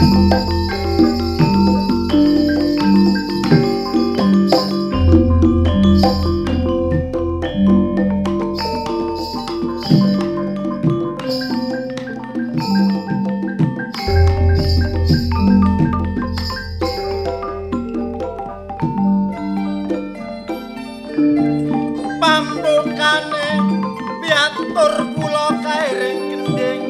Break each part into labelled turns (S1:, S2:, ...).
S1: Pambukane piatur kula kairing gending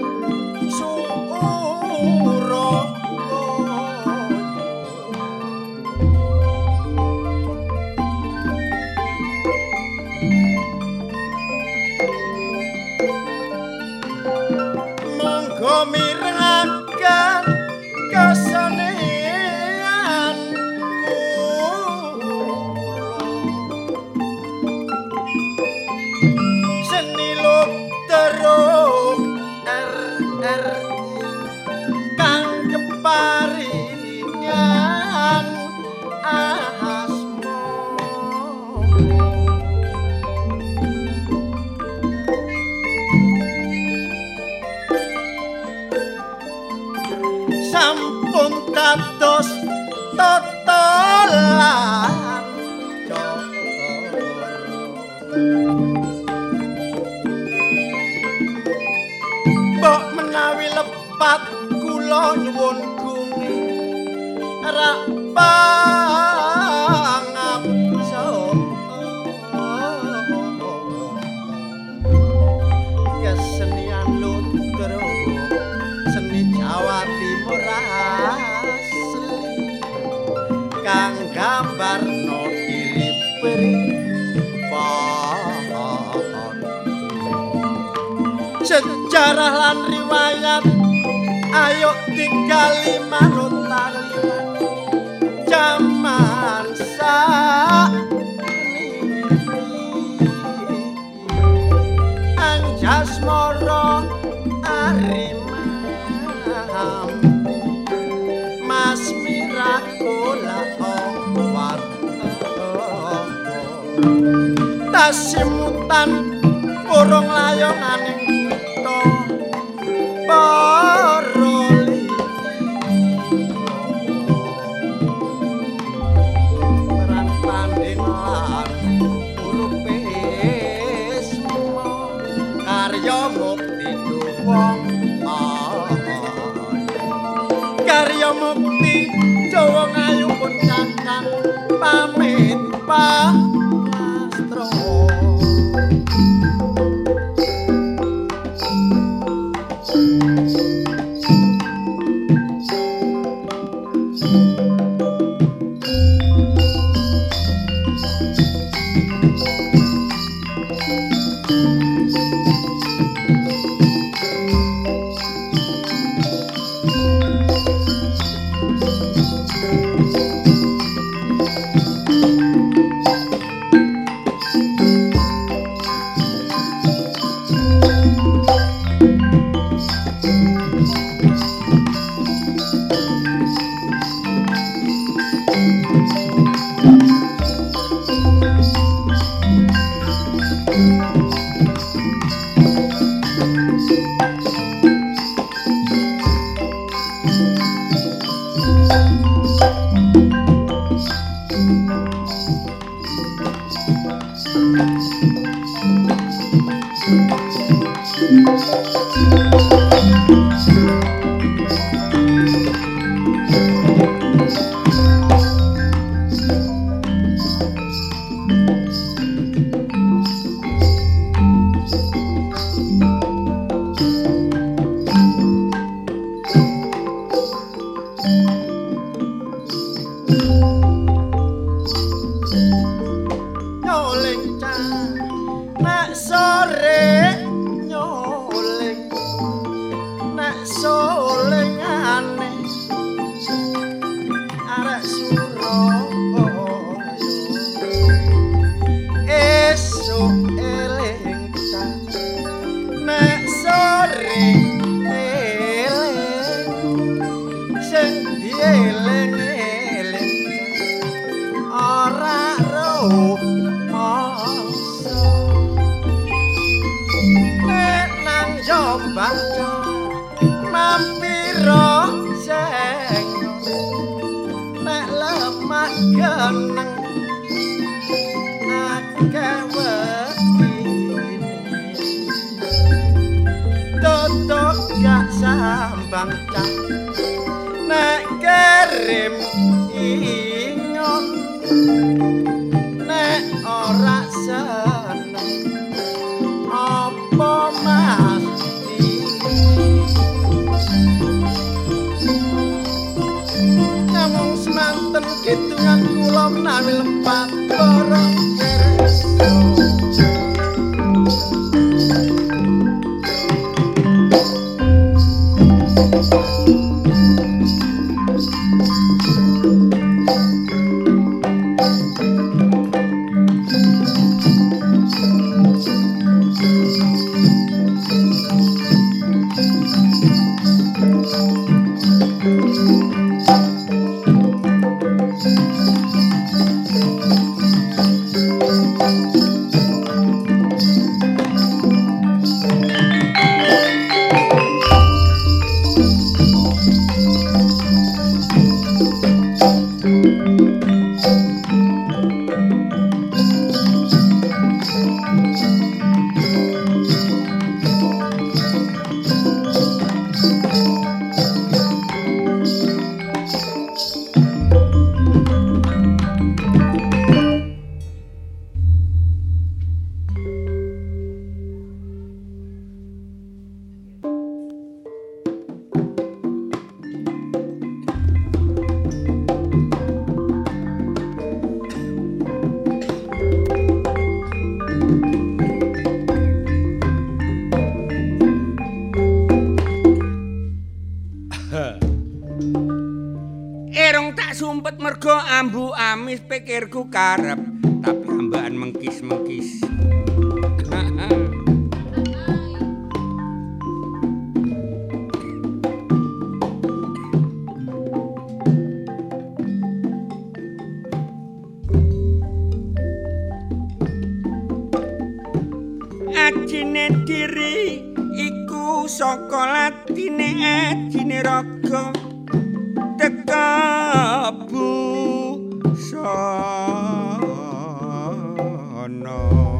S1: monggo mirengaken kesenian seni teruk RRI kang keparingan asma sampun dados totolan mbok menawi lepat kula nyuwun gunge rak pangapsa kesenian lutero seni Jawa Timur asli kang gambarno iri-iri sejarah lan riwayat ayo tinggali manut talian jaman Anjasmara Arimam Mas Mirakola tasimutan urung layonganing kutha Paroli peran tanding lan urupe semua karya mukti wong karya mukti Jawa ngayu pun kakang pamit pastro baca mampiro nek kirim ingon nek ora seneng apa mati namung semanten kidungan kula menawi lempat barang kersa
S2: Erong tak sumpet mergo ambu amis pikirku karep tapi ambaan mengkis-mengkis. Ajine diri iku saka latine ajine raga tekabu sono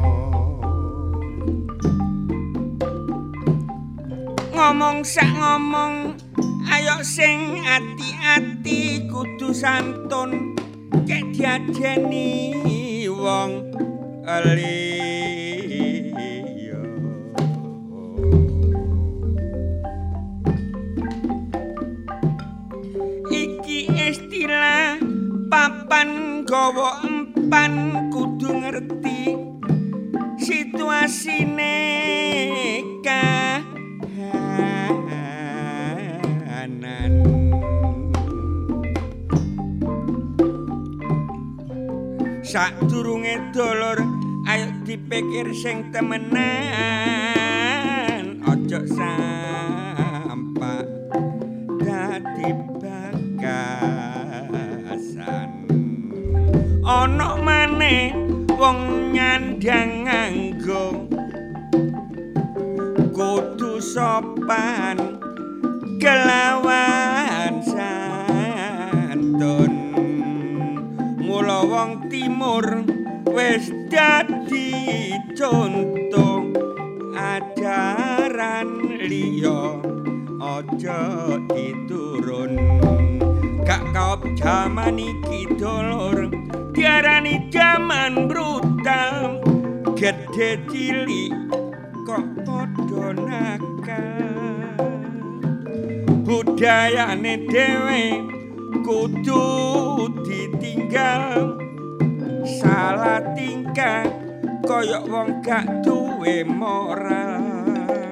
S2: ngomong sak ngomong ayo sing ati-ati kudu santun kek diajeni wong liya istilah papan gawa empan kudu ngerti situasine kahanan sadurunge dolor ayo dipikir sing temenan ojo sampak dadi ana maneh wong nyandang nganggo kudu sopan kelawan santun mula wong timur wis dadi contoh ajaran liya aja diturun gak kaop jaman iki dolor diarani jaman brutal gede cilik kok padha nakal budayane dhewe kudu ditinggal salah tingkah koyok wong gak duwe moral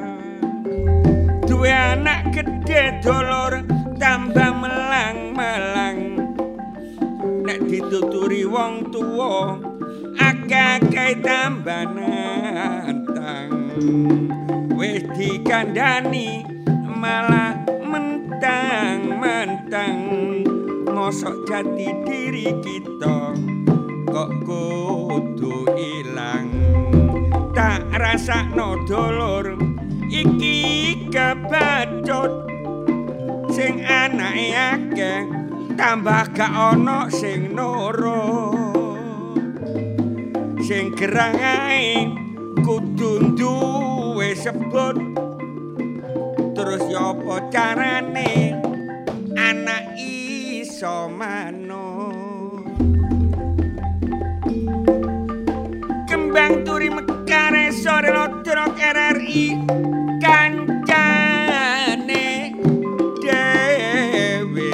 S2: duwe anak gede dolor tambah melang-melang nek dituturi wong tuwa akeh-akeh tambah nantang wis dikandani malah mentang-mentang mosok jati diri kita kok kudu ilang tak rasakno dolor iki kebacut sing anake akeh tambah gak ana sing nurut sing gerang ae kudu duwe sebut terus ya apa carane kaya manuk. Kembang turi mekare sore lodrok RRI kancane dhewe.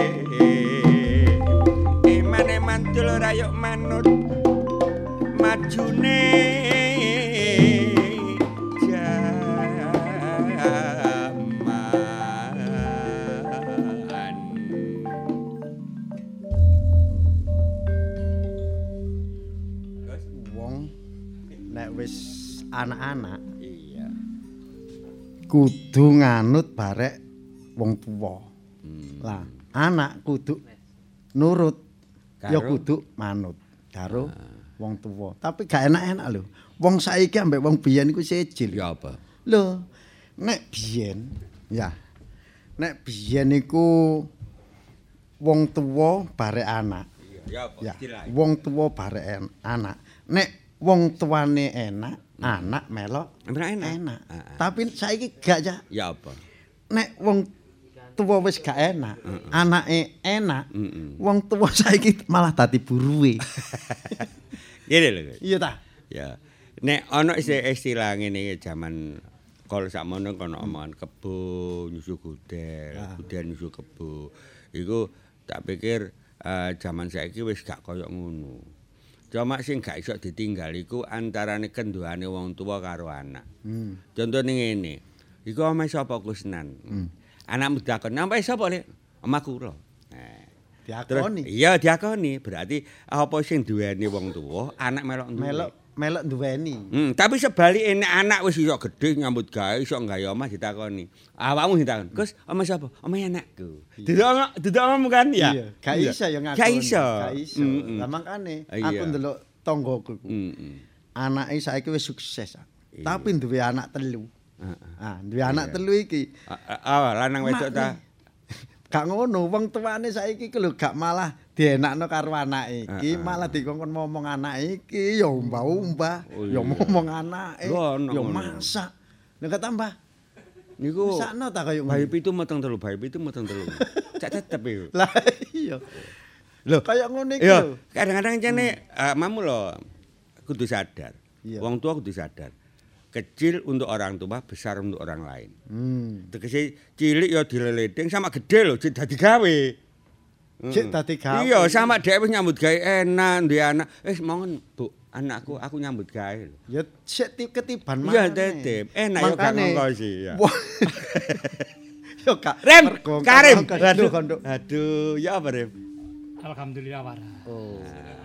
S2: Eman dul rayok manut majune
S1: wis anak-anak
S2: iya
S1: kudu nganut barek wong tuwa. Lah, anak kudu nurut ya kudu manut karo wong tuwa. Tapi gak enak-enak lho. Wong saiki ambek wong biyen iku siji.
S2: Ya apa?
S1: Lho, nek biyen ya. Nek biyen iku wong tuwa barek anak.
S2: Ya apa?
S1: Ya, wong tuwa barek anak. Nek wong tuane enak, anak melok enak. Tapi saiki gak ya.
S2: Ya apa?
S1: Nek wong tuwa wis gak enak, anake enak, wong tuwa saiki malah dadi buruwe.
S2: Ngene lho.
S1: Iya ta?
S2: Ya. Nek ana istilah ngene iki jaman kalau sakmono kono omongan kebo nyusu gudel, gudel nyusu kebo. Iku tak pikir jaman saiki wis gak koyo ngono. Cuma sing gak iso ditinggal iku antarane kenduane wong tua karo anak. Contone ngene. Iku omahe sapa Kusnan? Anakmu dakon, "Nampai sapa, Lek?" Omaku kula.
S1: Diakoni.
S2: Iya, diakoni. Berarti apa sing duweni wong tua, anak melok
S1: duweni.
S2: Tapi sebalike nek anak wis iso gedhe nyambut gawe, iso nggawe omah ditakoni. Awakmu ditakon, "Gus, omah sapa?" "Omah anakku." Duduk omahmu kan ya?
S1: Iya, gak iso ya ngakoni.
S2: Gak iso.
S1: Lah makane aku ndelok tanggoku iku. Anake saiki wis sukses. Tapi duwe anak telu. Duwe anak telu iki.
S2: Lanang wedok ta?
S1: Gak ngono, wong tuane saiki ku lho gak malah dienakno karo anake iki, malah dikongkon ngomong anake iki ya umbah-umbah, ya ngomong anake, ya masak. Nek tambah
S2: niku
S1: sakno ta kaya
S2: bayi pitu meteng telu. Cak tetep iku.
S1: Lah iya. Lho kaya ngono iki
S2: lho.
S1: lho.
S2: Kadang-kadang jane mamu lho kudu sadar. Wong tua kudu sadar. Kecil untuk orang tua, besar untuk orang lain. Tegese cilik ya dileledeng sama gede lho, dadi gawe.
S1: Cek dadi gawe.
S2: Iya, sama dhek wis nyambut gawe enak, duwe anak. Mongen, Bu, anakku aku nyambut gawe lho.
S1: Ya sik ketiban maneh.
S2: Iya, tetep. Enak ya gak ngongko sih ya.
S1: Yo Kak.
S2: Rem, Karim.
S1: Aduh,
S2: ya apa Rem?
S3: Alhamdulillah waras.
S1: Oh.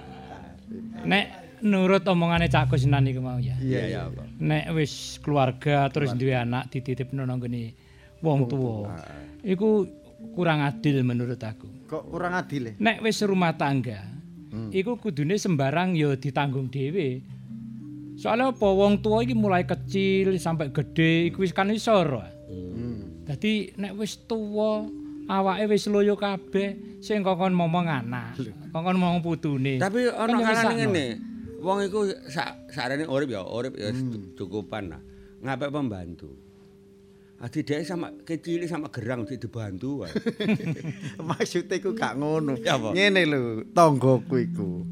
S3: Nek nurut omongane Cak Kusnan iku mau ya.
S2: Iya, apa.
S3: Nek wis keluarga terus duwe anak dititipno nang ngene wong tuwa. Iku kurang adil menurut aku.
S1: Kok kurang adil?
S3: Nek wis rumah tangga, iku kudune sembarang ya ditanggung dhewe. Soalnya apa wong tua iki mulai kecil sampai gede iku wis kan isor. Dadi nek wis tuwa awake wis loyo kabeh sing kongkon momong anak, kongkon momong putune.
S2: Tapi ana kalane ngene. Wong iku sarene urip ya cukupan lah. Ngapik pembantu. Adi dhek sama kecil sama gerang dibantu wae.
S1: Maksudnya iku gak ngono. Ngene lho, tanggoku iku.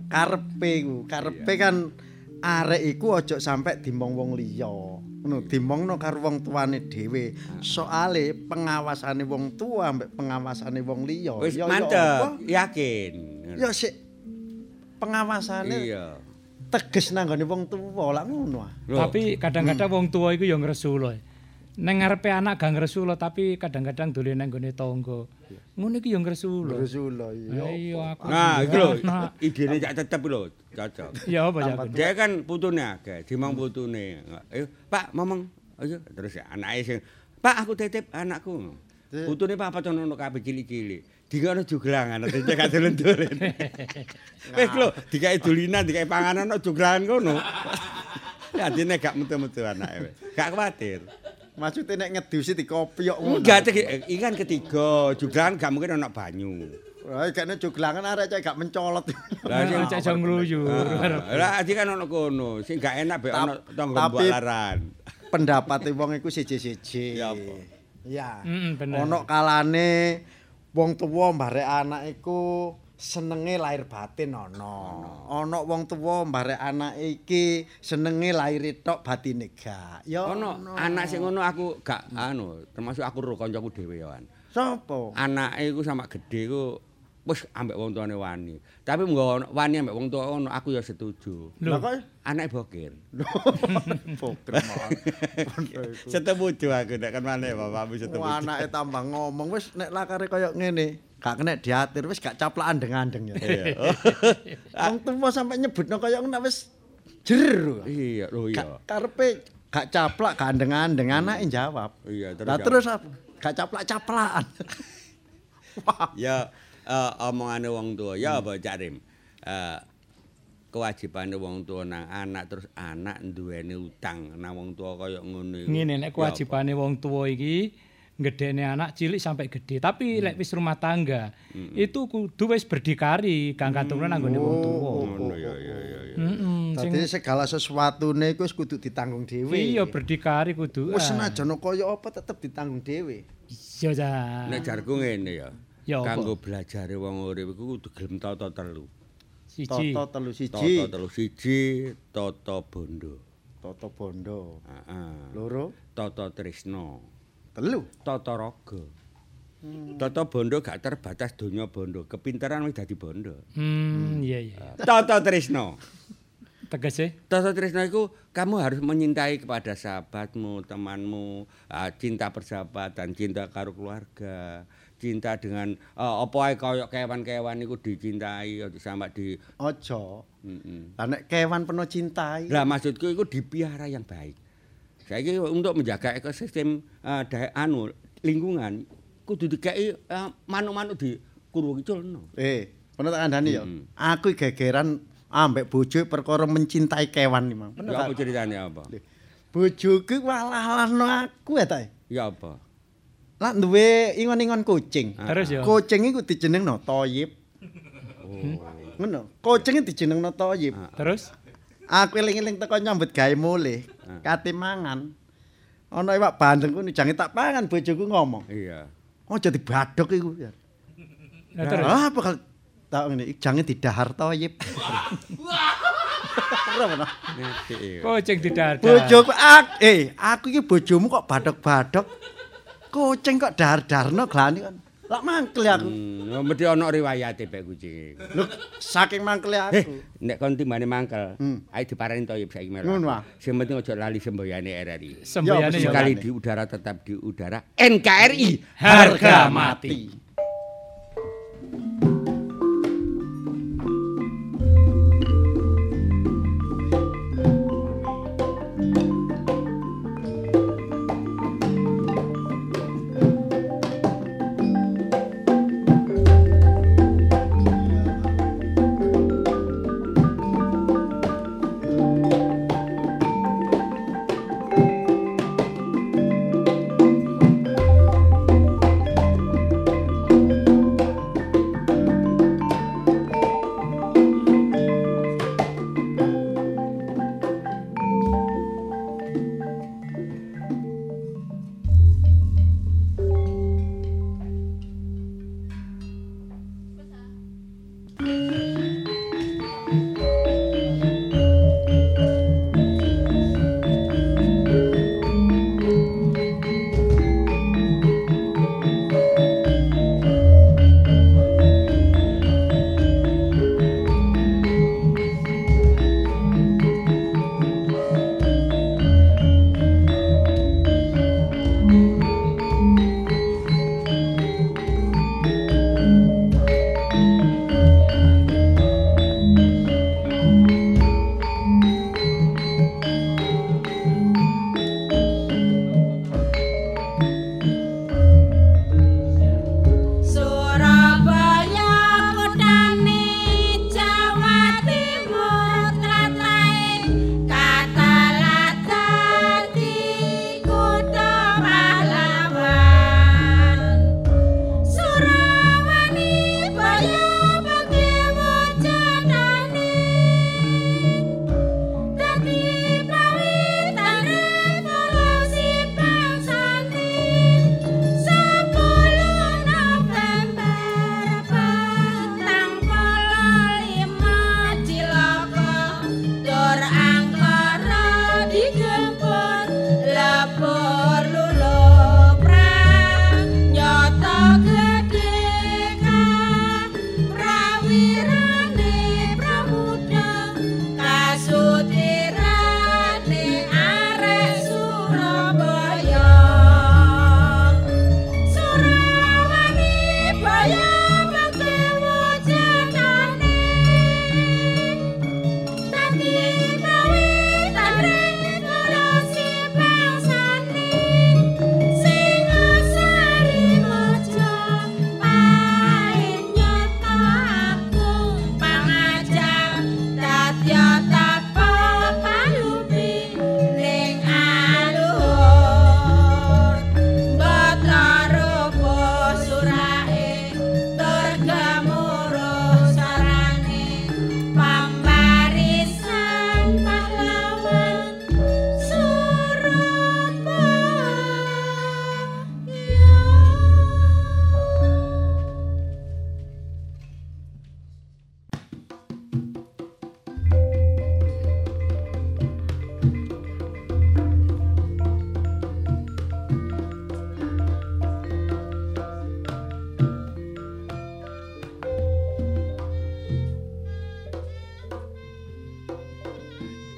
S1: Karepe kan arek iku aja sampe dimong wong liya. Ngono, dimongno karo wong tuane dhewe. Soale pengawasane wong tua ambek pengawasane wong liya.
S2: Wis mantep, yakin.
S1: Ya sik pengawasane.
S2: Iya.
S1: Teges nang gone wong tuwa lak ngono.
S3: Tapi kadang-kadang wong tuwa iku ya ngresu lho. Nang ngarepe anak gak ngresu lho, tapi kadang-kadang dolen nang gone tangga. Ngono iki ya ngresu lho.
S1: Ngresu lho iya.
S3: Iya aku.
S2: Nah, iki lho idene cak tetep lho, cocok.
S3: Ya apa ya.
S2: Dia kan putune akeh, dimong putune. Ayo, Pak, ngomong. Ayo, terus anake sing, "Pak, aku titip anakku." Putune papat ono kabeh cilik-cilik. Dikono juglangan, dadi gak dolen-dolen. Wis lho, dikai dulinan, dikai panganan ono juglangan kono. Adine gak metu-metu anake. Gak kuwatir.
S1: Maksudnya nek ngedusi dikopiok ngono.
S2: Enggak, iki kan ketiga, juglangan gak mungkin ono banyu.
S1: Wah, kene juglangan arek cek gak mencolot.
S3: Lah sing cek jong gluyur.
S2: Lah iki kan ono kono, sing gak enak be ono tangga mbalaran.
S1: Pendapate wong iku siji-siji.
S2: Ya apa?
S1: Ya.
S3: Bener.
S1: Ono kalane wong tuwa mbarek anak iku senenge lahir batin ana wong tuwa mbarek anak iki senenge lahir tok batine gak ya
S2: ono anak sing ngono aku gak termasuk aku karo kancaku dhewe ya.
S1: Sapa
S2: Anake iku sama gedhe iku wis ambek wong tuane wani. Tapi mengko wani ambek wong tua ono aku ya setuju.
S1: lho kok
S2: Anake bokir.
S1: Bokir mawon.
S2: Setuju aku nek kan maneh bapakmu setuju.
S1: Anake tambah ngomong wis nek lakare kaya ngene gak kena diatur wis gak caplakan deng-andeng ya. Wong tuwa sampe nyebutno kaya ngono wis jer.
S2: Iya, lho iya.
S1: Karepe gak caplak gak andeng-andeng anake jawab.
S2: Iya,
S1: Terus apa? Gak caplak-caplakan.
S2: Ya omongane wong tua ya apa Cak Rim. Kewajibane wong tua nang anak terus anak duweni utang nang wong tua kaya ngono iku.
S3: Ngene nek kewajibane wong tua iki ngedekne anak cilik sampai gede. Tapi lek wis rumah tangga itu kudu wis berdikari kang katurunan anggone wong tua.
S2: Ngono ya.
S1: Dadi segala sesuatune iku wis kudu ditanggung dhewe.
S3: Iya berdikari kudu.
S1: Wis senajan kaya apa tetep ditanggung dhewe.
S3: Iya ta.
S2: Nek jarku ngene ya.
S3: Ya apa?
S2: Kanggo belajare wong urip iku kudu gelem tata telu.
S3: Siji.
S1: Toto telu
S2: Siji, tata bondo.
S1: Toto bondo.
S2: Heeh.
S1: Loro,
S2: Tata tresna.
S1: telu.
S2: Tata raga. Tata bondo gak terbatas donya bondo, kepinteran wis dadi bondo.
S3: Iya.
S2: Tata tresna.
S3: Tegese
S2: Tata tresna itu kamu harus menyintai kepada sahabatmu, temanmu, cinta persahabatan, cinta karo keluarga, cinta dengan apa ae kaya kewan-kewan iku dicintai sampai di
S1: Aja. Lah nek kewan penuh cintai.
S2: Lah maksudku itu dipiara yang baik. Saiki untuk menjaga ekosistem lingkungan kudu dikei manuk-manuk dikurung culno.
S1: Bener tak kandhani ya. Aku gegeran ambek bojo perkara mencintai kewan iki, Mang.
S2: Ya apa ceritane apa?
S1: Bojoku walahno aku ya ta.
S2: Ya apa?
S1: Lah duwe ingon-ingon kucing.
S3: terus ya.
S1: Kucing iku dijenengno Toyib. Ngono. Kucing dijenengno Toyib.
S3: Terus
S1: Aku eling-eling teko nyambut gawe mulih. Kate mangan. Ana iwak bandeng ku jange tak pangan bojoku ngomong.
S2: Iya.
S1: Aja dibadhok iku.
S3: Nah, terus
S1: Ah bakal tak ngene jange didahar Toyib.
S2: Ngerti.
S3: kucing didadar.
S1: Bojoku aku iki bojomu kok badhok-badhok. Kucing kok dahar-darno glani kan. Lah mangkel aku.
S2: Mesti ana riwayate pek kucing.
S1: Lho saking mangkele aku.
S2: Nek kon timbane mangkel, ayo diparani Toyib saiki melu.
S1: Ngono ah.
S2: Sing penting aja lali semboyane RRI.
S3: Semboyane ya.
S2: Sekali di udara tetap di udara. NKRI
S3: Harga mati.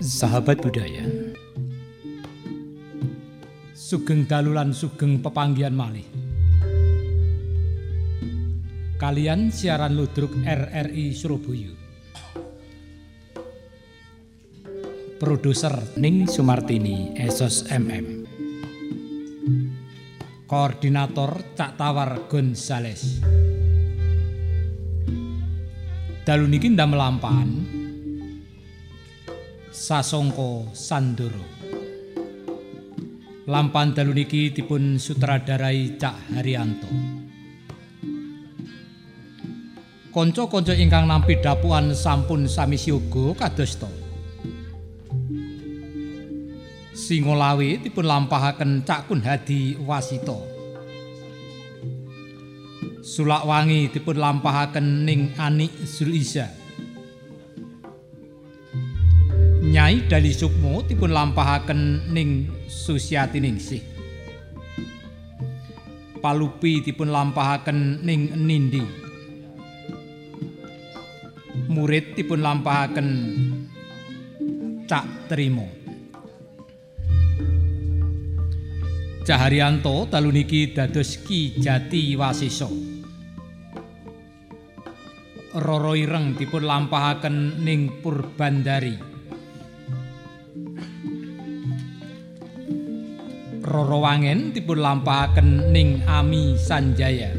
S3: Sahabat budaya, sugeng dalu lan sugeng pepanggihan malih. Kalian siaran ludruk RRI Surabaya. Produser Ning Sumartini Esos MM. Koordinator Cak Tawar Gonzales. Dalu niki ndamel lampahan Sasongko Sandoro. Lampahan dalu niki dipun sutradarai Cak Haryanto. Kanca-kanca ingkang nampi dapuan sampun sami siaga kadosta. Singolawe dipun lampahaken Cak Kun Hadi Wasita. Sulakwangi dipun lampahaken Ning Anik Zuliza. Nyai Dali Sukmo dipun lampahaken Ning Susiati Ningsih. Palupi dipun lampahaken Ning Nindi. Murid dipun lampahaken Cak Trimo. Cak Haryanto dalu niki dados Ki Jati Wasiso. Roro Ireng dipun lampahaken Ning Purbandari. Roro Wangen dipun lampahaken Ning Ami Sanjaya.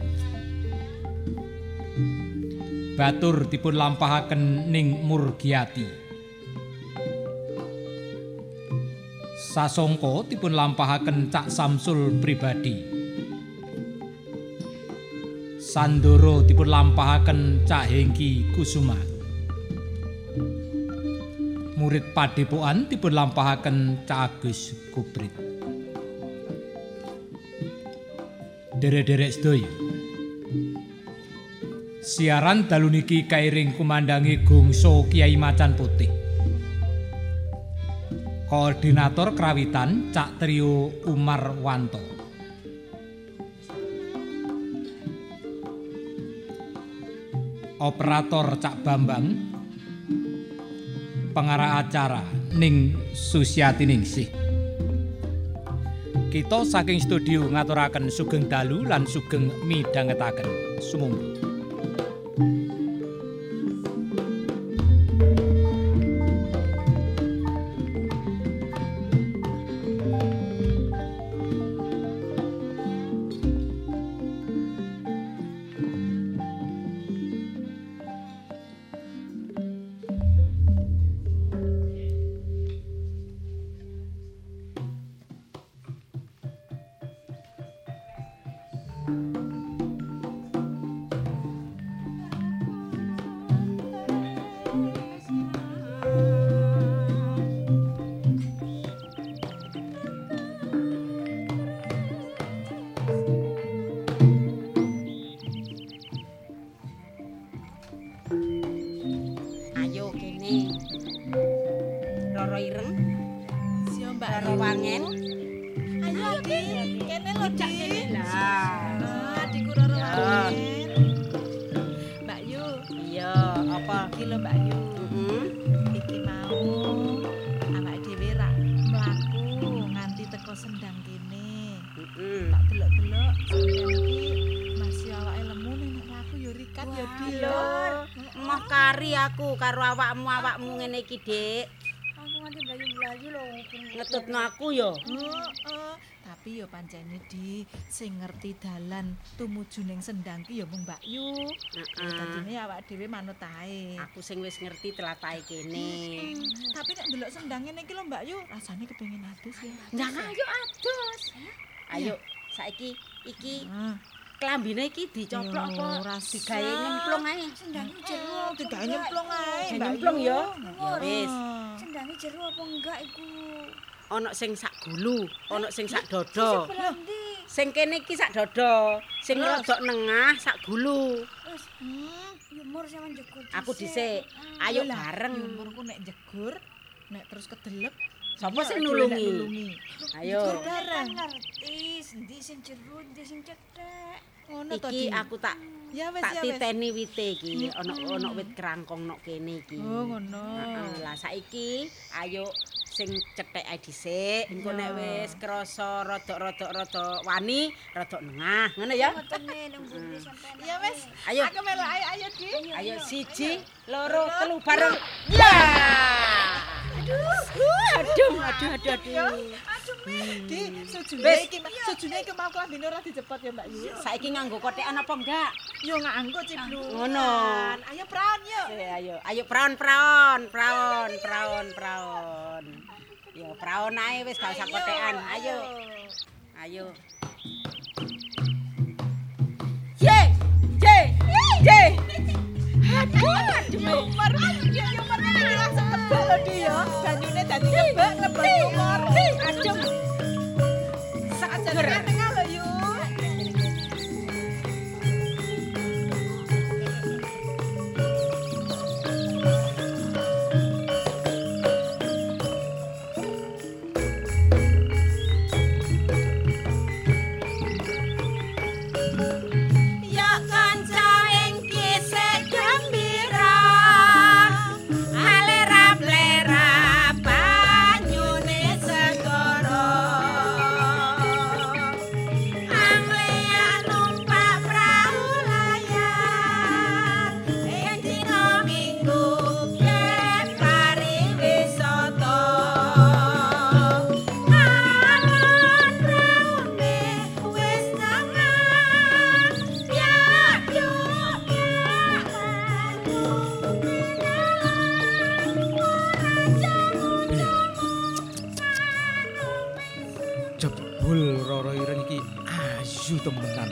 S3: Batur dipun lampahaken Ning Murgiati. Sasongko dipun lampahaken Cak Samsul Pribadi. Sandoro dipun lampahaken Cak Hengki Kusuma. Murid Padepokan dipun lampahaken Cak Agus Kuprit. Derek-derek sedaya. Siaran dalu niki kairing kumandangi gongso Kiai Macan Putih. Koordinator Krawitan Cak Trio Umar Wanto. Operator Cak Bambang. Pengarah acara Ning Susiati Ningsih. Kita saking studio ngaturaken sugeng dalu lan sugeng midhangetaken. Sumangga.
S4: Roro Ireng. Sio Mbak Roro Wangen. Ayo Ki, kene lho Cak kene. Lah, adikku Roro Wangen. Mbak Yu. Iya, apa iki lho Mbak Yu? Iki mau awake dhewe ra mlaku nganti teko Sendang kene. Tak delok-delok sampeyan iki masih awake lemu nek aku yo rikat yo Dio.
S5: Moh kari aku karo awakmu ngene iki, Dik.
S4: Aku nganti blayu-blayu lho
S5: Ngetutno aku ya.
S4: Tapi ya pancene di sing ngerti dalan tumuju ning Sendang ki ya mung Mbak Yu. Dadine awak dhewe manut ae.
S5: Aku sing wis ngerti tlatah kene.
S4: Tapi nek ndelok Sendang ngene iki lho Mbak Yu, rasane kepengin adus ya.
S5: Nah, ayo adus. Ayo saiki iki klambine iki dicoplok apa digawe nyemplung ae.
S4: Sendange jero digawe nyemplung ae.
S5: Nyemplung ya. Ya wis.
S4: Sendange jero apa enggak iku?
S5: Ana sing sak gulu, ana sing sak dodo. Sing kene iki sak dodo, sing rodok nengah sak gulu.
S4: Wis, yumur sampean jegur.
S5: Aku dhisik. Ayo bareng.
S4: Yumurku nek jegur, nek terus kedelep
S5: sapa sing nulungi? Ayo.
S4: Bareng ngerti, endi sing jero, endi sing cethek. Ngono to,
S5: Iki
S4: Di.
S5: aku tak
S4: Ya wis
S5: tak
S4: ya wis.
S5: titeni wite iki, ana wit kerangkong nok kene iki.
S4: Oh, ngono.
S5: Heeh, lah saiki ayo sing cethek ae dhisik, engko nek wis krasa rada wani, rada nengah, ngono ya.
S4: Ya wis.
S5: Ayo.
S4: Aku melok ayo Di.
S5: Ayo 1, 2, 3 bareng. Ya! Aduh.
S4: Di, sujune
S5: Wis.
S4: iki mau klambine ora dicepot ya Mbak Yu.
S5: Saiki nganggo kotekan apa enggak?
S4: Yo nganggo ciplu.
S5: Ngono.
S4: Ayo praon yuk.
S5: Ayo praon. Yo praon ae wis gak usah kotekan. Ayo. Ye.
S4: Yumar iki langsung kebak lho Di ya. Banyune dadi kebak lebet yumar.
S5: Adem.
S4: Sakjane tengah lho Yu.
S5: Ya kanca ing kisah gembira, alera-plera banyune segara. Anglean numpak prau layar, ing dina Minggu yen pariwisata. Alon praune wis tengah,
S6: Jebul Roro Ireng iki ayu temenan.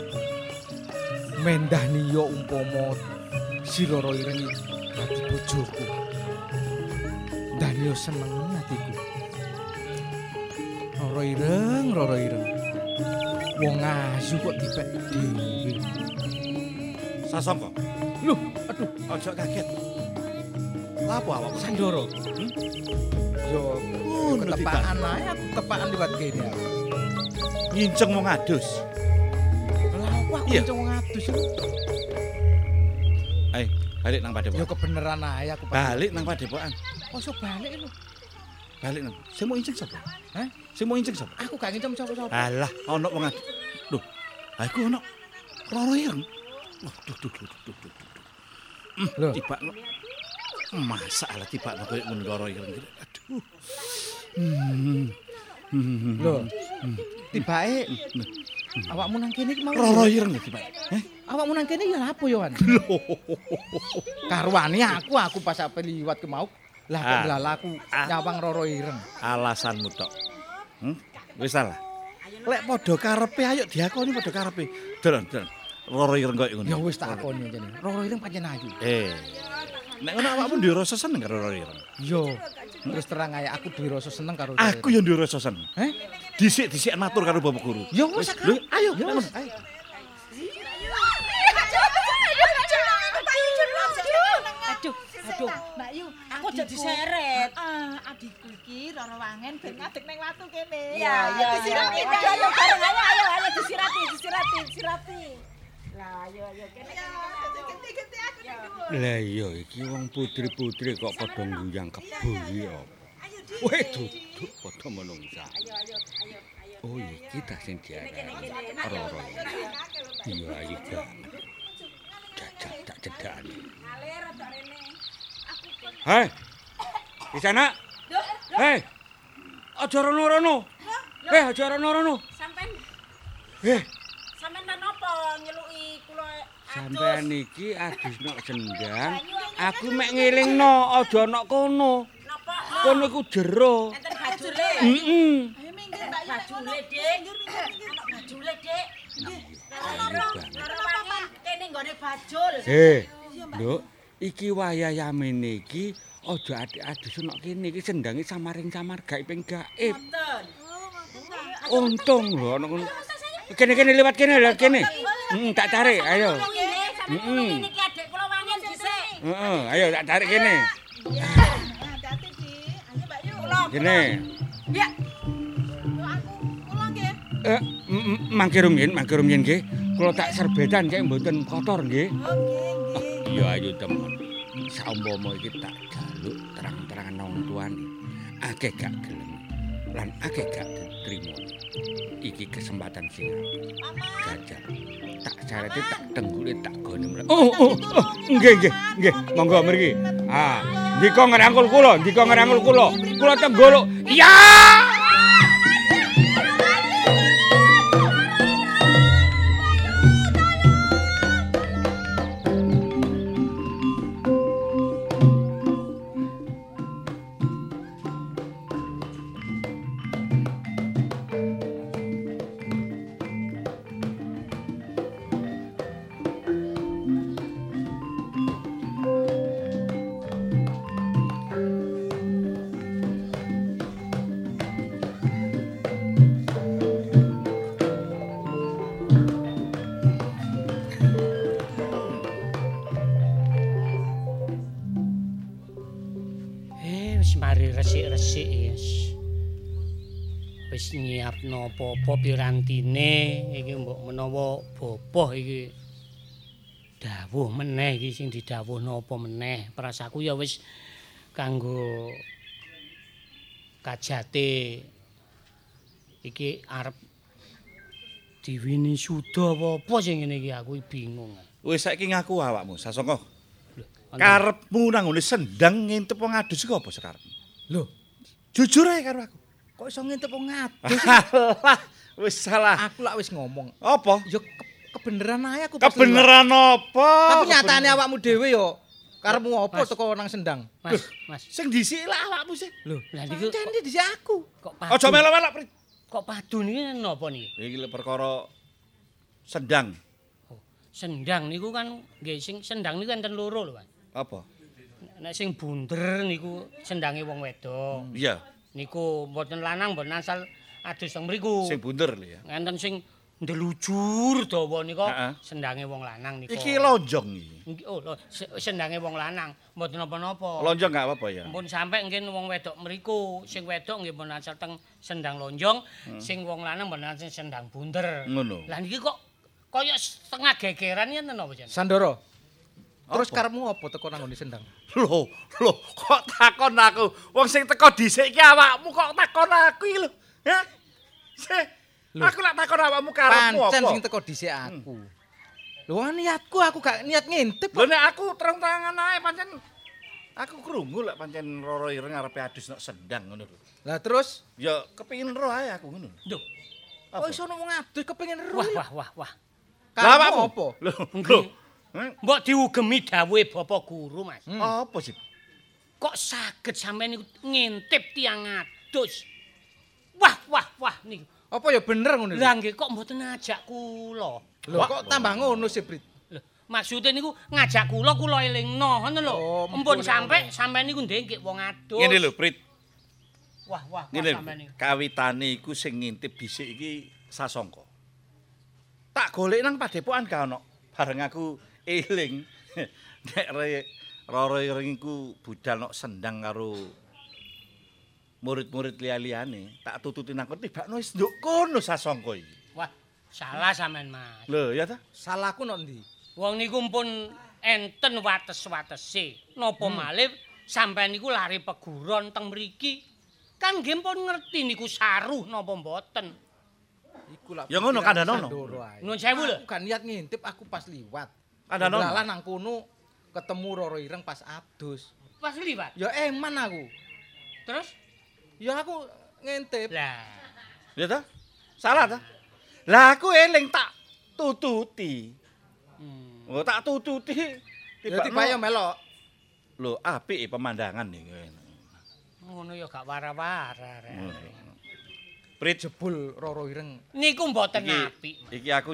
S6: Mendani yo umpama si Roro Ireng iki dadi bojoku. Dan yo seneng atiku. Roro Ireng. Wong ayu kok dipek dhewe.
S7: Sasongko.
S6: Loh, aduh,
S7: Ojo kaget. Lapo awakmu?
S6: Sandoro. Yo ketepaan ae aku ketepaan liwat kene aku.
S7: Nginceng wong adus.
S6: Lah apa aku
S7: Iya.
S6: cuma ngadus iku?
S7: Ayo, balik nang
S6: Yo
S7: padepokan.
S6: kebeneran ae aku.
S7: Balik nang padepokan.
S6: Oso balik lho.
S7: Balik nang. Sing mau inceng sapa?
S6: Hah?
S7: Sing mau inceng sapa?
S6: Aku gak ngincem sapa-sapa.
S7: Alah, ono wong adus. Loh, aku ono Roro Ireng. Duh.
S6: Loh,
S7: Tiba masalah tiba koyo ngono Roro Ireng. Aduh.
S6: lho. Tibake awakmu nang kene iki mau.
S7: Roro Ireng lho tiba.
S6: Awakmu nang kene ya apa yo, Wan? Karwane aku pas ape liwat ke mau. Lah kok lala aku nyawang Roro Ireng.
S7: Alasanmu tok. Wis salah. Lek padha karepe ayo diakoni padha karepe. Dolan. Roro Ireng koyo ngono.
S6: Ya wis tak akoni jane. Roro Ireng pancen ayu.
S7: Nek ngono awakmu duwe rasa seneng karo Roro Ireng.
S6: Yo. Terus terang ae aku duwe rasa seneng karo Roro Ireng.
S7: Aku yo duwe rasa seneng.
S6: Heh?
S7: Dhisik-dhisik matur karo Bapak Guru.
S6: Ya wis
S7: Lho, ayo.
S6: Ya wis, ayo.
S5: Aduh.
S4: Mbak Yu,
S5: Aku jadi seret.
S4: Adikku iki Roro Wangen ben ngadeg nang watu kene.
S5: Ya.
S4: Disirami, Mbak
S5: Ayo
S4: Yu.
S5: bareng ayo disirati. Lah ayo kene.
S4: Ganti aku ning dhuwur.
S2: Lah iya iki wong putri-putri kok padha nguyang kebo iki ya. Weh duduk padha menungsa.
S5: Ayo.
S2: Oh iki ta sing diarani Roro. Iya ayu banget. Jajal tak cedhakane.
S5: Ngalir rada rene.
S2: Hei. Di sana. Hei. Aja rono-rono. Aja rono-rono.
S5: Sampean menapa nyeluki kula
S2: Sampeyan iki adus nok sendang, aku mek ngelingno aja nok kono.
S5: napa?
S2: Kono iku jero.
S5: Enten bajule.
S2: Heeh.
S4: Ayo minggir Mbak Yu.
S5: Bajule, Dik. Anak bajule, Dik. Loro wangi kene nggone bajul.
S2: Nduk, iki wayah-yamene iki aja adus nok kene iki sendange samaring-samar gaib ping gaib.
S5: Ngoten.
S2: Untung lho ana ngono. Kene lewat kene. Tak tarik, ayo.
S5: Sampeyan niki adik kula wangen dhisik.
S2: Heeh, ayo tak tarik kene.
S4: Hati-hati, Di. Ayo Mbak Yu.
S2: Kene.
S5: Ya.
S4: Aku kula nggih.
S2: Mangke rumiyin nggih. Kula tak serbetan cek mboten kotor nggih.
S4: Nggih.
S2: Ya ayo temen. Saumpama iki tak jaluk terang-terangan wong tuane. Akeh gak gelem lan akeh gak diterima. Iki kesempatan sing gajar. Tak carete tak tenggule tak gone mlek. Nggih. Monggo mriki. Ndika ngrangkul kula. Kula tengguluk. Ya!
S3: Mari resik-resik wis nyiapno apa-apa pirantine iki mbok menawa boboh iki dawuh meneh iki sing didhawuhno apa meneh prasaku ya wis kanggo kajate iki arep diwini suda apa sing ngene iki aku bingung.
S7: Wis saiki ngaku awakmu Sasongko. Karepmu nang ngene sendang ngintip wong adus iku apa sekarepmu?
S6: Lho,
S7: jujur ae karo aku.
S6: kok iso ngintip wong adus?
S7: Alah, wis salah.
S6: Aku lak wis ngomong.
S7: Apa?
S6: Ya kebeneran ae aku.
S7: Kebeneran apa?
S6: Tapi nyatane awakmu dhewe yo karepmu apa teko nang sendang?
S3: Mas.
S7: Sing dhisik lah awakmu sih.
S6: Lho,
S3: Lah niku
S6: pancen dhisik aku.
S3: kok padu.
S7: Aja melok-melok, Prit.
S3: Kok padu niki napa niki?
S7: Iki lek perkara sendang.
S3: Sendang niku kan nggih sing sendang niku enten loro lho, Mas.
S7: Apa?
S3: Nek sing bunder niku sendange wong wedok.
S7: Iya,
S3: Niku mboten lanang mboten asal adus teng mriku.
S7: sing bunder lho ya.
S3: Enten sing ndelujur dawa nika
S7: Heeh.
S3: sendange wong lanang nika.
S7: Iki lonjong iki.
S3: Oh, sendange wong lanang mboten napa-napa.
S7: Lonjong gak apa-apa ya.
S3: Mumpun sampe nggih wong wedok mriku, sing wedok nggih mboten asal teng sendang lonjong, sing wong lanang mboten asal sendang bunder.
S7: Ngono.
S3: Lah niki kok kaya setengah gegeran yen napa jan?
S6: Sandoro. Terus
S7: Apa?
S6: karepmu apa teko nang ngene sendang?
S7: Loh, kok takon aku? Wong sing teko dhisik iki awakmu kok takon aku iki lho. Hah? Aku lak takon awakmu karepmu apa?
S6: Pancen sing teko dhisik aku. Lho niatku aku gak niat ngintip.
S7: Lho nek aku terang-terangan ae pancen aku krungu lek pancen Roro Ireng arepe adus nek sendang ngono lho.
S6: Lah terus
S7: Ya kepengin ro ae aku ngono.
S3: Duh,
S6: kok iso wong adus kepengin ero.
S3: wah.
S7: Lah
S6: Karepmu
S7: awakmu
S6: apa?
S7: Lho,
S3: Nggih.
S7: Hah?
S3: Mbok diugemi dawuhe Bapak Guru, Mas.
S7: Apa sih?
S3: Kok saged sampeyan niku ngintip tiang adus? Wah niku.
S6: Apa ya bener ngono lho?
S3: Lah nggih kok mboten ngajak kula.
S6: Lho kok tambah ngono sih, Brit?
S3: Lho, maksude niku ngajak kula elingno, ngoten lho.
S6: Oh,
S3: Empun
S6: mumpun
S3: sampe sampeyan niku ndengke wong adus.
S7: Ngene lho, Prit.
S3: Wah
S7: Ngene
S3: sampeyan niku.
S7: kawitane iku sing ngintip dhisik iki Sasongko. Tak golek nang padepokan gak ono. Bareng aku eling nek Roro Ireng iku budal nok sendang karo murid-murid liya-liyane, tak tututi nang kono tibakno wis nduk kono Sasongko iki.
S3: Wah, salah sampean, Mas.
S7: Lho, ya ta?
S6: Salahku nok ndi?
S3: Wong niku pun enten wates-watese. Napa malih sampeyan niku lari peguron teng mriki. Kan nggih pun ngerti niku saruh napa mboten.
S6: Iku lak.
S7: Ya ngono, kandhanono.
S6: Sandoro ae.
S3: Nuwun sewu lho.
S6: Aku gak niat ngintip, aku pas liwat.
S7: Kandhanono.
S6: Dalan nang kono ketemu Roro Ireng pas adus.
S3: Pas liwat.
S6: Ya eman aku.
S3: Terus
S6: Ya aku ngintip.
S3: lah
S7: Ya ta? Salah ta? Lah aku eling tak tututi. Oh, tak tututi.
S6: Ya tiba ya melok.
S7: Lho, apik pemandangan iki.
S3: ngono ya gak wara-wara. Rek.
S7: Prit
S6: Jebul Roro Ireng.
S3: Niku mboten
S7: iki,
S3: apik.
S7: iki aku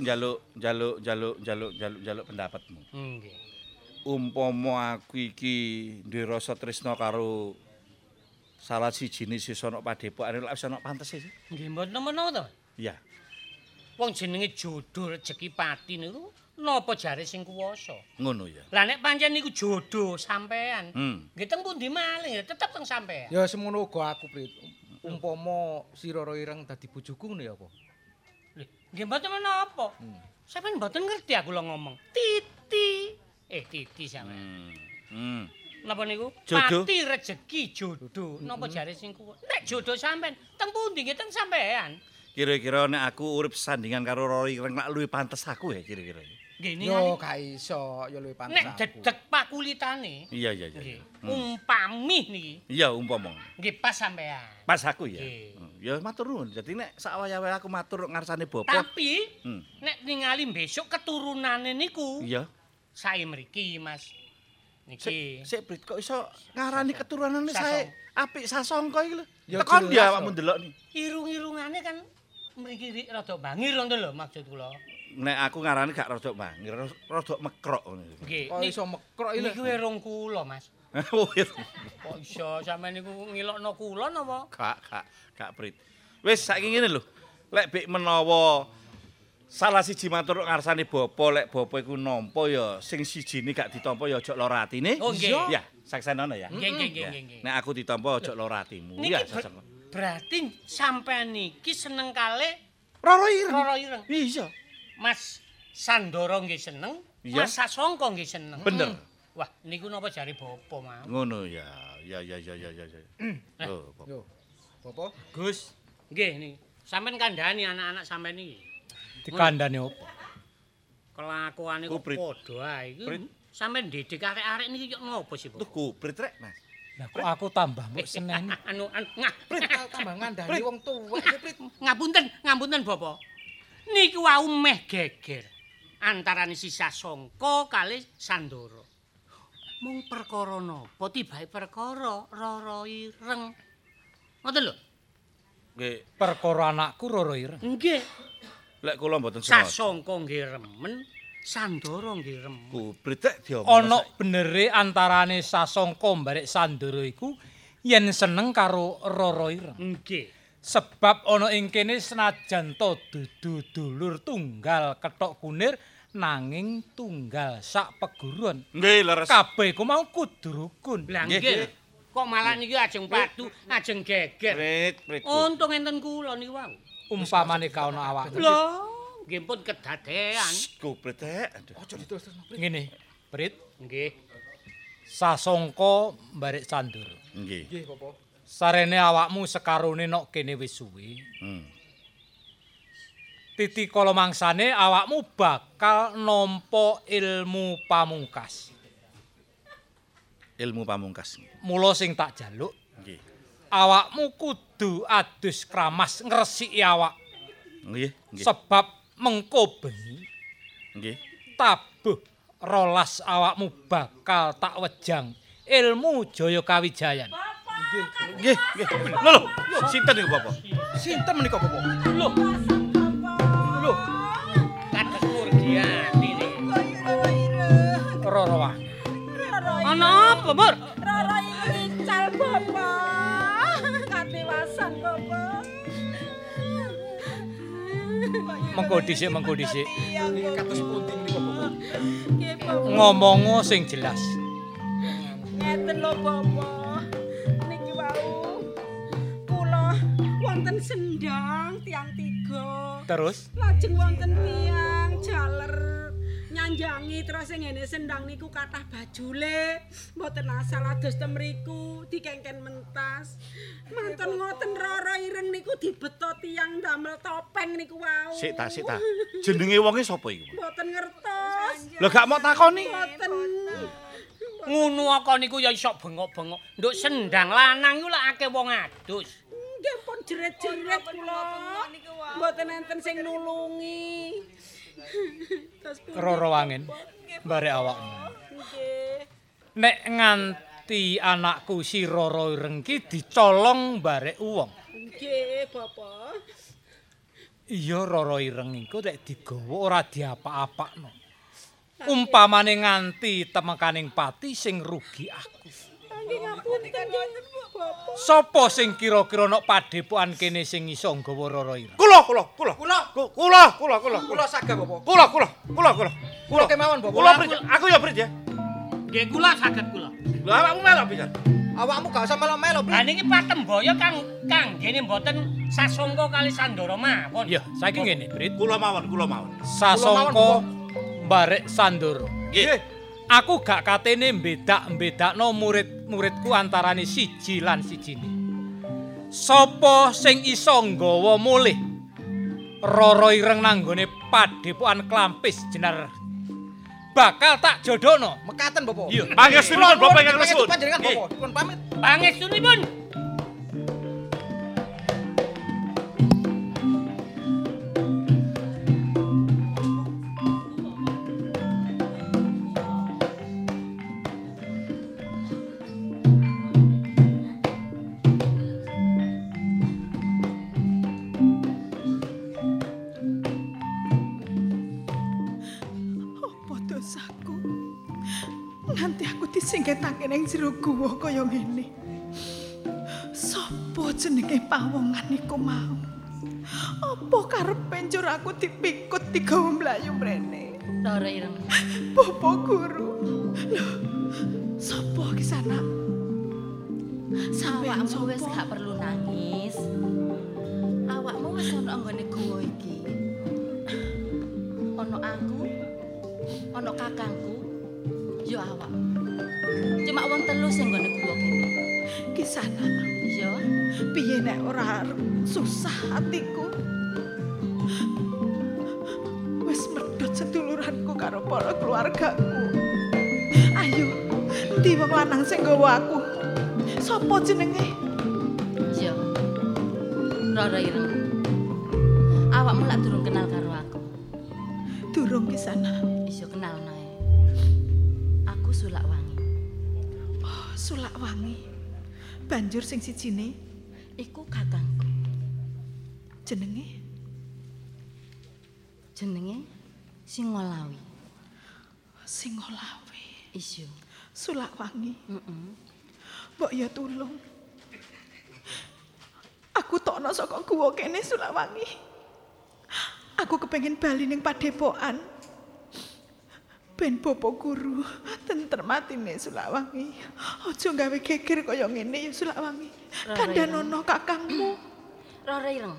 S7: njaluk pendapatmu.
S3: Nggih.
S7: Umpama aku iki duwe rasa tresna karo salah sijine sisa ana padepokan lek wis ana pantese sih.
S3: Nggih mboten menawa to.
S7: Iya.
S3: Wong jenenge jodoh rezeki pati niku napa jare sing kuwasa.
S7: Ngono ya.
S3: Lah nek pancen niku jodoh sampean. Nggih teng pundi malih ya tetep teng sampean.
S6: Ya semono uga aku, Prit. Umpama si Roro Ireng dadi bojoku ngono ya apa?
S3: Lho, nggih mboten menapa.
S8: Sampeyan mboten ngerti aku lho ngomong. Titi. Titi sampeyan. Napa niku?
S2: Jodoh.
S8: Pati rejeki jodoh. Napa jare sing kuwi? Nek jodoh sampean, teng pundi nggih teng sampean?
S7: Kira-kira nek aku urip sandingan karo Rory Ireng lak luwih pantes aku ya kira-kira.
S8: Nggih
S6: Yo gak iso, yo luwih pantes.
S8: nek dedeg pakulitane.
S7: Iya.
S8: Nggih. Umpami niki.
S7: Iya umpama.
S8: Nggih pas sampean.
S7: Pas aku ya.
S8: Nggih.
S7: Ya matur nuwun. Dadi nek sak wayah-wayah aku matur ngarsane bapak.
S8: Tapi nek ningali besok keturunane niku.
S7: Iya.
S8: Sae mriki, Mas. Niki.
S7: Sik Brit kok iso ngarani keturunane sae apik sasongko iki lho.
S6: Ya
S7: Tekon
S6: jelas
S7: dia
S6: kok.
S7: awakmu ndelok ni.
S8: Irung-irungane kan mriki rada bangir ngono lho maksud kula.
S7: Nek aku ngarani gak rodok bangir, rodok mekrok ngono.
S8: Nggih.
S6: Kok iso mekrok iki.
S8: Niku irung kula, Mas.
S7: Oh, iya.
S8: Kok iso sampean niku ngilokno kula napa?
S7: Gak Brit. Wis saiki ngene lho. Lek bek menawa salah siji matur ngarsane bapa, lek bapa iku nampa ya sing sijine gak ditampa ya aja lara atine.
S8: Oh, nggih.
S7: Ya, saksenono ya.
S8: Nggih.
S7: Nek aku ditampa aja lara atimu.
S8: Niki
S7: Ya, sasengko.
S8: berarti sampean niki seneng kalih
S7: Roro Ireng.
S8: Roro Ireng.
S7: Iya.
S8: Mas Sandoro nggih seneng,
S7: Iya.
S8: Mas Sasongko nggih seneng.
S7: Bener.
S8: Wah, niku napa jari bapa mau?
S7: Ngono ya. Ya. Oh, Bapak.
S6: Yo. Bapak?
S8: Gus, nggih niki. Sampeyan kandhani anak-anak sampeyan niki.
S3: Dikandani opo?
S8: Kelakuane kok
S7: Kubrit.
S8: padha ae iki.
S7: Brit.
S8: Sampeyan didik arek-arek niki kok ngopo sih,
S7: Tuh
S8: Pak?
S7: kubrit rek, Mas.
S3: Lah kok aku tambah mbok seneni.
S6: Prit tambah ngandani wong tuwek iki, Prit.
S8: Ngapunten Bapak. Niku wau meh geger antarane si Sasongko kali Sandoro. Mung perkara napa tibae perkara Roro Ireng. Ngoten lho.
S7: Nggih,
S3: Perkara anakku Roro Ireng.
S8: Nggih.
S7: lek kula mboten sengaja.
S8: Sasongko nggih remen, Sandoro nggih remen.
S7: Kubrit rek diomong.
S3: Ana benere antarane Sasongko mbarek Sandoro iku yen seneng karo Roro Ireng.
S8: Nggih.
S3: Sebab ana ing kene senajan to dudu dulur tunggal kethok kunir nanging tunggal sak peguruan.
S7: Nggih, leres.
S3: Kabeh iku mau kudu rukun.
S8: Lah nggih. Kok malah niki ajeng padu, ajeng geger.
S7: Prit.
S8: Untung enten kula niku wau.
S3: Umpamane kaono awak.
S8: Lho, nggih pun kedadean.
S7: Kubrit rek. Aduh.
S6: Aja diterus-terus, Prit.
S3: Ngene, Prit,
S8: Nggih.
S3: Sasongko mbarek Sandoro.
S7: Nggih.
S6: Nggih, Bapak.
S3: Sarene awakmu sekarone nok kene wis suwe. Titi kala mangsane awakmu bakal nampa ilmu pamungkas.
S7: Ilmu pamungkas.
S3: Mula sing tak jaluk,
S7: Nggih.
S3: awakmu kudu adus kramas ngresiki awak.
S7: Nggih.
S3: Sebab mengko bengi
S7: Nggih.
S3: tabuh rolas awakmu bakal tak wejang ilmu Jaya Kawijayan.
S7: Nggih. Lho, sinten niku, Bapak?
S6: Sinten menika, Bapak?
S8: Lho. Kados murgiati niki.
S3: Roro Wangen.
S8: Ana apa, Mur?
S4: Roro Ireng ical Bapak. Kadewasan Bapak.
S3: Mengko dhisik.
S6: Niki kados pundi menika, Bapak?
S4: Nggih Bapak.
S3: Ngomongo sing jelas.
S4: Ngeten lho Bapak. Niki wau kula wonten sendang tiang tiga.
S3: Terus
S4: Lajeng wonten tiang jaler nyanjangi terus sing ngene sendang niku kathah bajule. Mboten asal ados ten mriku dikengken mentas. Mantun ngoten Roro Ireng niku dibeto tiang damel topeng niku wau.
S7: Sik ta. Jenenge wonge sapa iku?
S4: Mboten ngertos.
S7: Lah gak mau takoni.
S4: Mboten.
S8: Ngono kok niku ya iso bengok-bengok. Nduk sendang lanang iku lak akeh wong adus.
S4: Nggih pun jeret-jeret kula. Mboten enten sing nulungi. Terus pundi,
S3: Roro Wangen
S4: Bapak?
S3: mbarek awakmu.
S4: Nggih.
S3: Nek nganti anakku si Roro Ireng ki dicolong mbarek wong.
S4: Nggih, Bapak.
S3: Iya Roro Ireng iku nek digawa ora diapa-apakno. Umpamane nganti temekaning pati sing rugi aku.
S4: Nggih ngapunten nggih, Bapak.
S3: Sopo sing kira-kira nok padepokan kene sing iso nggawa Roro Ireng?
S7: Kula.
S6: Kula saged, Bapak.
S7: Kula
S6: kemawon, Bapak.
S7: Kula Brit. Aku ya Brit ya.
S8: Nggih kula saged kula.
S7: Lha awakmu melok pisan.
S6: Awakmu gak usah melo-melo, Bro.
S8: Lah niki Patemboyo Kang ngene mboten sasongko kali Sandoro mawon.
S3: Ya, saiki ngene, Brit.
S7: Kula mawon.
S3: Sasongko mbarek Sandoro.
S7: Nggih.
S3: Aku gak katene mbedak-mbedakno murid-muridku antarane siji lan sijine. Sapa sing iso nggawa mulih Rara Ireng nanggone Padepokan Klampis Jenar bakal tak jodohno.
S6: Mekaten, Bapak.
S3: Iya.
S7: Pangestunipun Bapak ingkang nuwun.
S6: Panjenengan, Bapak. Dipun pamit.
S8: Pangestunipun.
S4: Nganti aku disingketake ning jero guwa kaya ngene. Sopo jenenge pawongan iku mau? Apa karepe njur aku dipikut digawa mlayu mrene?
S5: Rara Ireng.
S4: Bapak Guru. Lho, sopo ki sana? Sampeyan
S5: Awakmu wis gak perlu nangis. Awakmu wis ana nggone guwa iki. Ana aku, ana kakangku, yo awak. Cuma wong telu sing nggone guwa kene.
S4: Ki sana.
S5: Yo,
S4: Piye nek ora susah hatiku? Wis medhot seduluranku karo para keluargaku. Ayo, ndi wong lanang sing nggawa aku? Sopo jenenge?
S5: yo. Rara Ireng. Awakmu lak durung kenal karo aku.
S4: Durung ki sana.
S5: Iso kenal nae. Aku Sulakwangi.
S4: Oh, Sulakwangi. Banjur sing sijine
S5: Iku kakangku.
S4: jenenge
S5: Jenenge Singolawi.
S4: Singolawe.
S5: Iso.
S4: Sulakwangi.
S5: Heeh.
S4: Mbok ya tulung. Aku tokno saka guwa kene Sulakwangi. Aku kepengin bali ning Padepokan. Ben Bapak Guru tentrem atine Sulakwangi. Aja gawe geger kaya ngene ya Sulakwangi. Kandhanono kakangmu.
S5: Rara Ireng.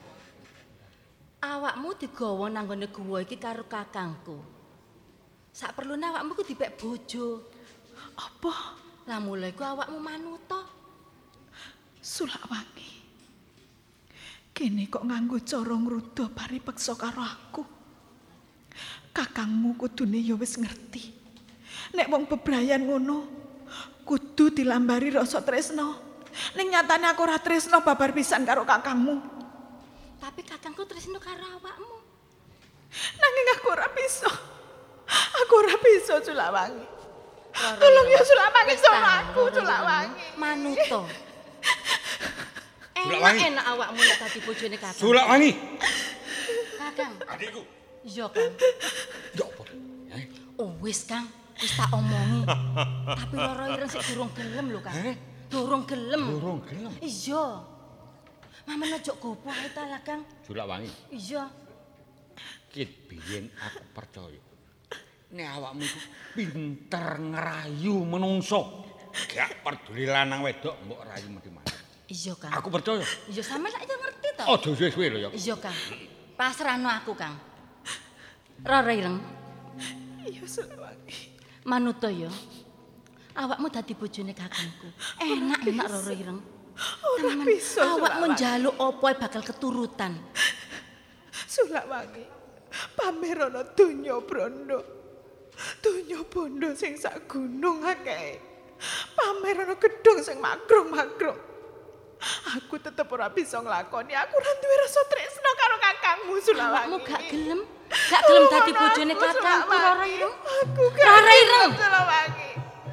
S5: Awakmu digawa nang nggone guwa iki karo kakangku. Sak perlune awakmu ku dipek bojo.
S4: Apa
S5: Lah mulai ku awakmu manuta.
S4: Sulakwangi? Kene kok nganggo cara ngruda paripeksa karo aku. Kakangmu kudune ya wis ngerti. Nek wong bebrayan ngono, kudu dilambari rasa tresno. Ning nyatane aku ora tresno babar pisan karo kakangmu.
S5: Tapi kakangku tresno karo awakmu.
S4: Nanging aku ora bisa. Aku ora bisa Sulakwangi.
S5: Rara
S4: Tolong ya
S5: Ireng.
S4: Sulakwangi
S5: Wis
S4: sama
S5: ta,
S4: aku
S5: Rara
S4: Sulakwangi.
S5: Ireng. Manuta.
S2: Sulakwangi.
S5: Enak awakmu nek dadi bojone kakang.
S2: Sulakwangi.
S5: Kakang.
S7: Adikku.
S5: Iya, Kang.
S2: Ya apa?
S5: Oh, wis, Kang. Wis tak omongi. Tapi Rara Ireng sik durung gelem lho, Kang. Durung gelem.
S2: Durung gelem.
S5: Iya. Mamen ojo gopo ae ta lah, Kang.
S2: Sulakwangi.
S5: Iya.
S2: Kit biyen aku percaya. Nek awakmu iku pinter ngerayu menungso. Gak peduli lanang wedok mbok rayu mati-mati.
S5: Iya, Kang.
S2: Aku percaya.
S5: Iya, sampe lak yo ngerti to.
S2: Aja suwe-suwe lho ya.
S5: Iya, Kang. Pasrahno aku, Kang. Rara Ireng,
S4: Iya Sulakwangi.
S5: manuta yo. Awakmu dadi bojone kakangku. Enak Rara Ireng.
S4: Ora bisa
S5: Awakmu
S4: Sulakwangi.
S5: njaluk apa ae bakal keturutan.
S4: Sulakwangi. Pamer ana donya branda. Donya bondo sing sak gunung akeh. Pamer ana gedhong sing magrong-magrong. Aku tetep ora bisa nglakoni. Aku ora duwe rasa tresno karo kakangmu Sulakwangi.
S5: Awakmu gak gelem? Gak gelem dadi bojone kakangku Rara Ireng?
S4: Aku gak
S5: Rara
S4: gelem,
S5: Ireng.
S4: Sulakwangi.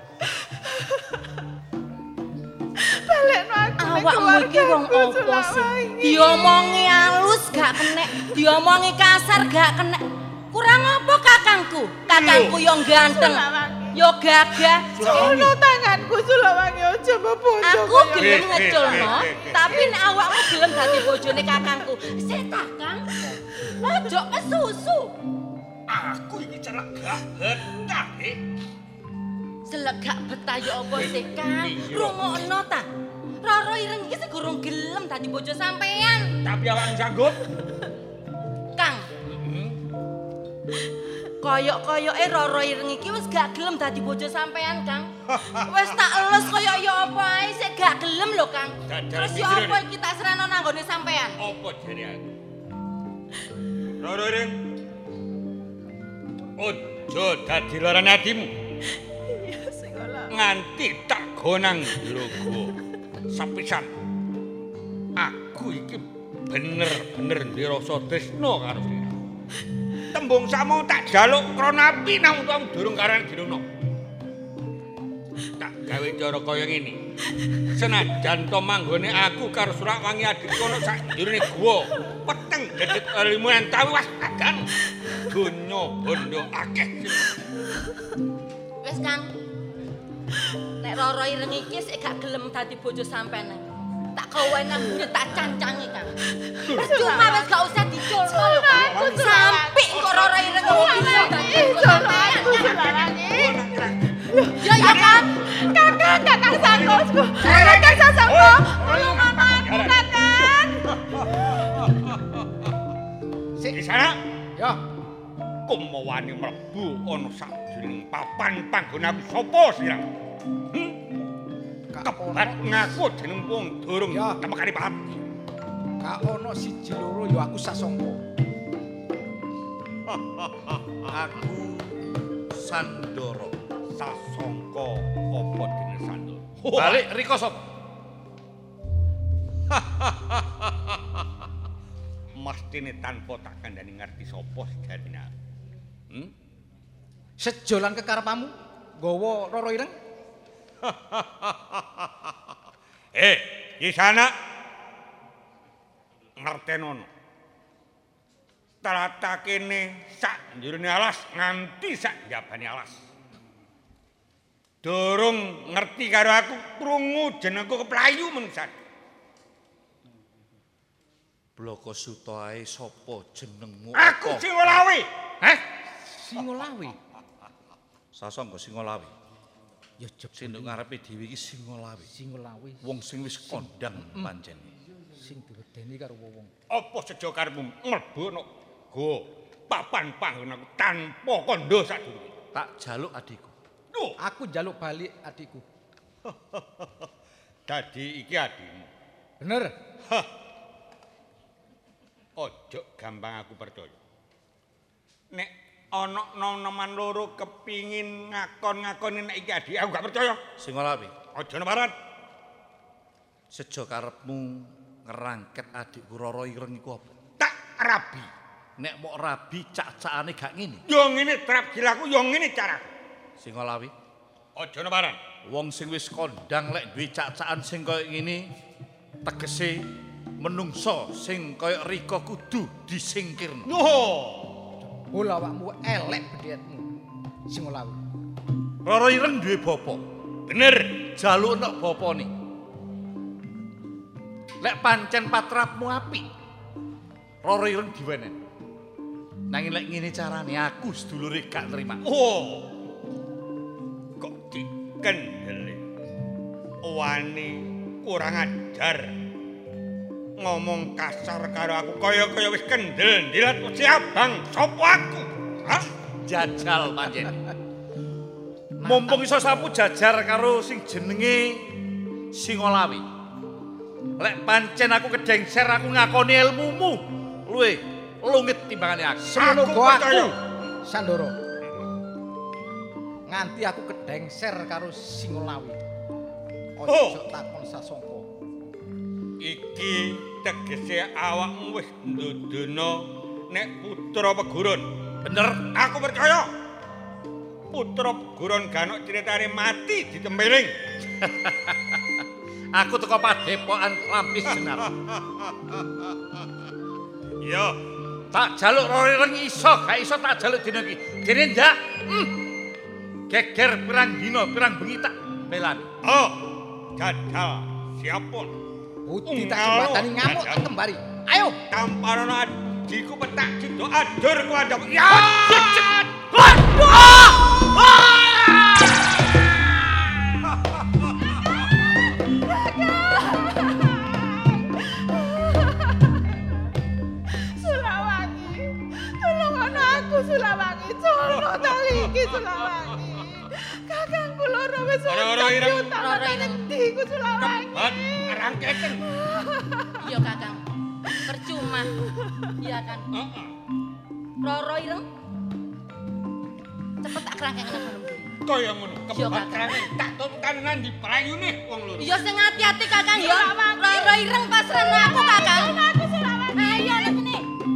S4: Balekno aku ning
S5: Awakmu iki wong
S4: keluargaku,
S5: apa sih?
S4: Sulakwangi.
S5: Diomongi halus gak kenek, diomongi kasar gak kenek. Kurang apa kakangku? Kakangku yo ganteng, yo gagah.
S4: Ono tanganku Sulakwangi aja bondo.
S5: Aku gelem ngeculno, tapi nek awakmu gelem dadi bojone kakangku, sik ta, Kang? Ojo kesusu.
S7: Aku iki celek gak betah,
S4: Selegak betah ya apa sih, Kang? Rungokno ta. Roro Ireng iki segurung gelem dadi bojo sampean.
S8: Tapi awak sanggup.
S4: Kang. Koyok-koyoke Roro Ireng iki wis gak gelem dadi bojo sampean, Kang. Wis tak elus koyok ya apa ae sik gak gelem lho, Kang. Terus ya apa iki tak sereno nang nggone sampean?
S2: Apa jare aku? Roro Ireng. Ojo dadi lara atimu.
S4: Iya, sing olah.
S2: Nganti tak gonang logo. Sapisan. Aku iki bener-bener ndirasa tresna karo dhewe. Tembung sakmu tak jaluk krana api nang utamu durung karan dirungno. Tak gawe cara kaya ngene. Senajan to manggone aku karo Surakwangi adikku ana sak njurine guwa, peteng gedhet limunan tawi was adan. Donya bondo akeh.
S4: Wis, Kang. Nek Roro Ireng iki sik gak gelem dadi bojo sampean. Tak kowe nang mburi tak cancangi, Kang. Cuma wis gak usah diculno lho, Kang. Sampai kok Roro Ireng iki gelem dadi bojo sampean. Ya ya, Kang. Kakang sangkos. Kakang sangkos. Tolong aman, Kakang.
S2: Sik di sana.
S6: Ya.
S2: Kumawani mlebu ana sajroning papan panggonaku sapa sira? Kebat ngaku jeneng wong durung temekane pati.
S6: Gak ono siji loro ya aku sasongko.
S7: Aku Sandoro.
S2: Sasongko apa dene Sandoro?
S7: Balik riko sapa?
S2: Mestine tanpa tak kandhani ngerti sapa sejarine.
S6: Sejolan kekarepamu nggawa Roro Ireng?
S2: Di sana ngertenono. Tlatah kene sak njurine alas nganti sak njabane alas. Durung ngerti karo aku krungu jenengku keplayu mengsan.
S7: Bloko Suto ae sapa jenengmu?
S2: Aku Singolawi.
S6: Hah? Singolawi.
S7: Sasongko Singolawi.
S6: Ya jeb
S7: Sing nduk ngarepe dhewe iki Singolawi.
S6: Singolawi
S7: Wong sing wis kondang pancen.
S6: sing diwedeni karo wong.
S2: Apa sejo karepmu mlebu ana go papan panggonanku tanpa kandha sadurunge?
S7: Tak jaluk adikku.
S2: Duh,
S6: Aku njaluk balik adikku.
S2: dadi iki adikmu.
S6: Bener?
S2: Ojo gampang aku percaya. Nek ana nom-noman loro kepingin ngakon-ngakoni nek iki adik aku gak percaya.
S7: Singolawi,
S2: Aja neparan.
S7: sejo karepmu ngerangket adikku Roro Ireng iku apa?
S2: Tak rabi.
S7: Nek mok rabi cak-cakane gak ngene.
S2: Yo ngene trap gilaku, yo ngene caraku.
S7: Singolawi,
S2: Aja neparan.
S7: wong sing wis kondang lek duwe cak-cakan sing kaya ngene tegese menungso sing kaya Rika kudu disingkirno.
S6: Oh, awakmu elek bedhetmu. Singolawi.
S7: Roro Ireng duwe bapa.
S2: Bener.
S7: Jaluk nek bapane. Lek pancen patrapmu apik. Roro Ireng diwenen. Nanging lek ngene carane aku sedulure gak nerima.
S2: Oh. Kok dikendeli. Wani kurang ajar. Ngomong kasar karo aku kaya-kaya wis kendel ndilat siabang sapa aku? Hah?
S7: Jajal pancen. Mumpung iso sapu jajar karo sing jenenge Singolawi. Lek pancen aku kedengser aku ngakoni ilmumu luwe lungit timbangane aku.
S6: Semono
S2: Aku
S6: go
S2: percaya.
S6: aku. Sandoro. Nganti aku kedengser karo Singolawi. Ojo takon sasongko.
S2: Iki tegese awakmu wis ndudono nek putra Pegurun.
S7: Bener,
S2: Aku percaya. Putra Pegurun ganok critane mati ditempeling.
S7: aku teko padepokan Lampis Jenar.
S2: Iya,
S7: Tak jaluk Roro Ireng iso, gak iso tak jaluk dina iki. Dene ndak. Geger pirang dina, pirang bengi tak belani.
S2: oh, jajal siapun.
S6: Budi tak jembatani ngamuk tak kembari. Ayo.
S2: Tamparono adikku petak jido adur ku adem. Ya! Roro ireng.
S4: Roro ireng. Ndi Kusulawangi?
S2: Kebot rangkeken.
S4: Iya, Kakang. Percuma. Iya kan?
S2: Heeh.
S4: Roro ireng. Cepet tak kerangkengan nang ngono.
S2: Kaya ngono, kebot rangkeken. Tak tutukan nang di prayune wong loro.
S4: Iya sing ati-ati Kakang ya. Roro ireng pasrahno aku Kakang. Aku Sulawani. Ayo nang sini.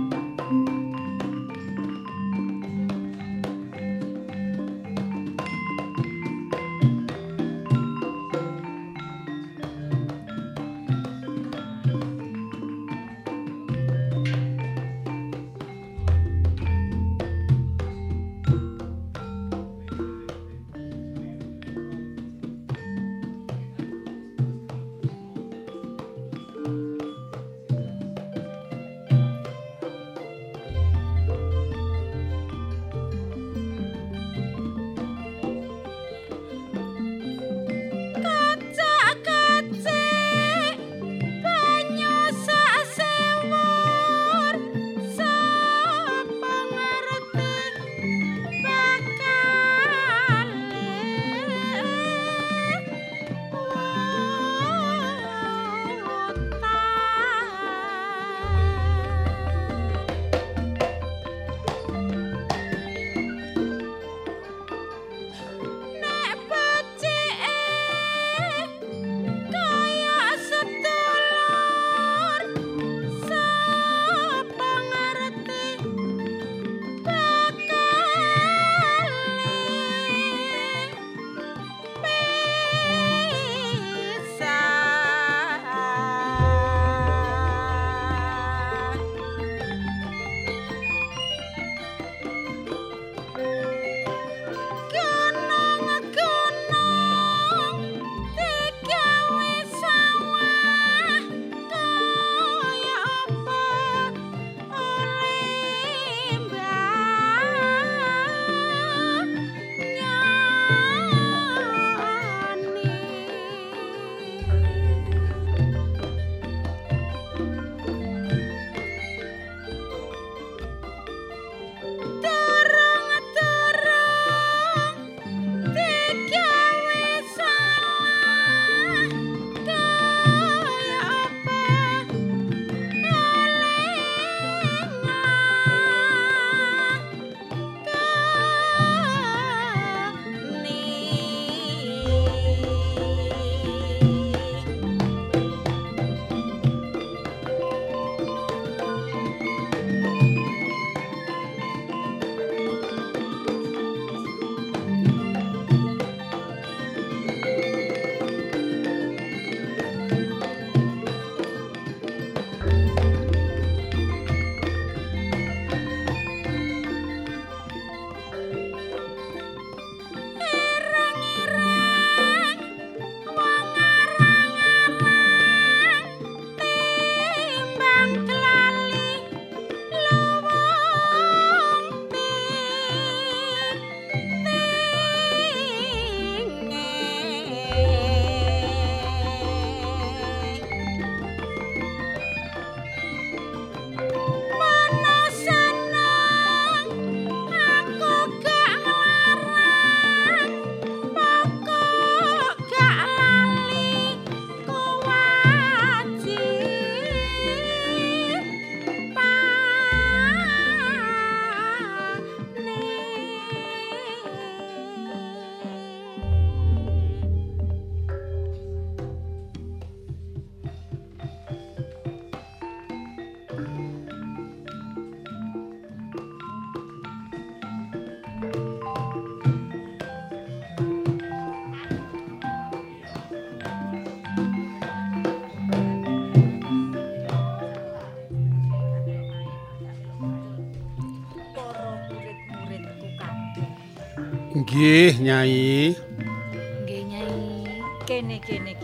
S6: Nggih, Nyai.
S9: Nggih, Nyai. Kene.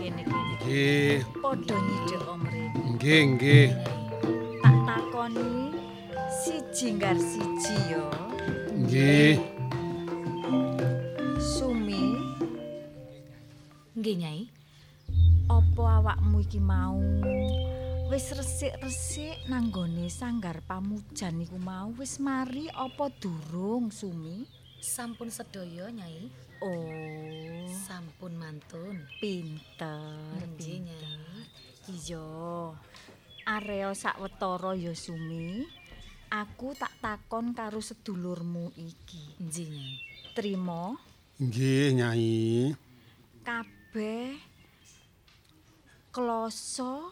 S6: Nggih.
S9: Padha nyidhek omre.
S6: Nggih.
S9: Tak takoni siji nggar siji ya.
S6: Nggih.
S9: Sumi. Nggih, Nyai. Apa awakmu iki mau wis resik-resik nang nggone sanggar pamujan iku mau wis mari apa durung, Sumi?
S4: Sampun sedaya, Nyai.
S9: Oh,
S4: Sampun.
S9: Pun mantun. Pinter, pinter. Iya. Areo sawetara ya Sumi. Aku tak takon karo sedulurmu iki. Nggih, Nyai. Trima.
S10: Nggih, Nyai.
S9: Kabeh kloso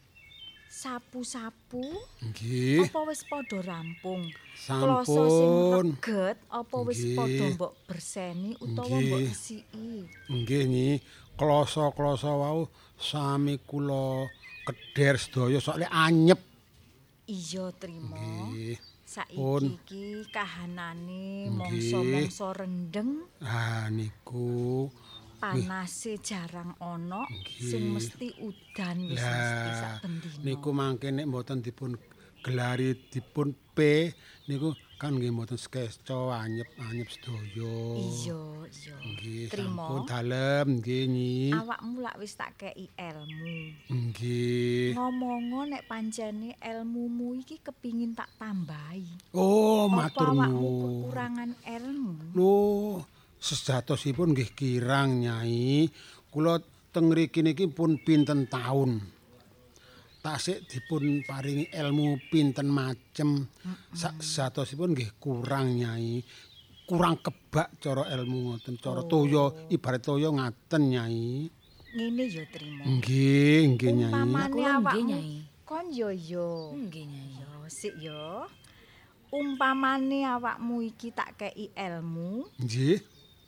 S9: sapu-sapu.
S10: Nggih.
S9: Apa wis padha rampung?
S10: Sampun.
S9: Kloso sing reget apa wis padha mbok berseni utawa mbok resiki?
S10: Nggih, Nyi. Kloso-kloso wau sami kula kedher sedaya soalnya anyep.
S9: Iya, trima.
S10: Nggih.
S9: Saiki iki kahanane mangsa-mangsa rendeng.
S10: Ah niku
S9: panase jarang ana sing mesti udan wis mesti sak bendina.
S10: Niku mangke nek mboten dipun gelari dipun P niku kan nggih mboten skeco anyep-anyep sedaya.
S9: Iya.
S10: Nggih,
S9: Trima.
S10: sampun dalem nggih Nyi.
S9: Awakmu lak wis tak kei ilmu.
S10: Nggih.
S9: Ngomong nek pancene ilmumu iki kepingin tak tambahi.
S10: Oh, matur
S9: nuwun. Apa awakmu
S10: nuwun.
S9: kekurangan ilmu?
S10: Loh, sejatosipun nggih kirang Nyai. Kula teng mriki niki pun pinten taun. Tasik dipun paringi ilmu pinten macem. Sejatosipun nggih kurang Nyai. Kurang kebak cara ilmu ngoten, cara toya ibarat toya ngaten Nyai.
S9: Ngene ya Trima.
S10: Nggih, Nyai.
S9: Umpamane awakmu
S5: Nyai.
S9: kon yo.
S5: Nggih, Nyai.
S9: Yo sik yo. Umpamane awakmu iki tak kei ilmu,
S10: Nggih.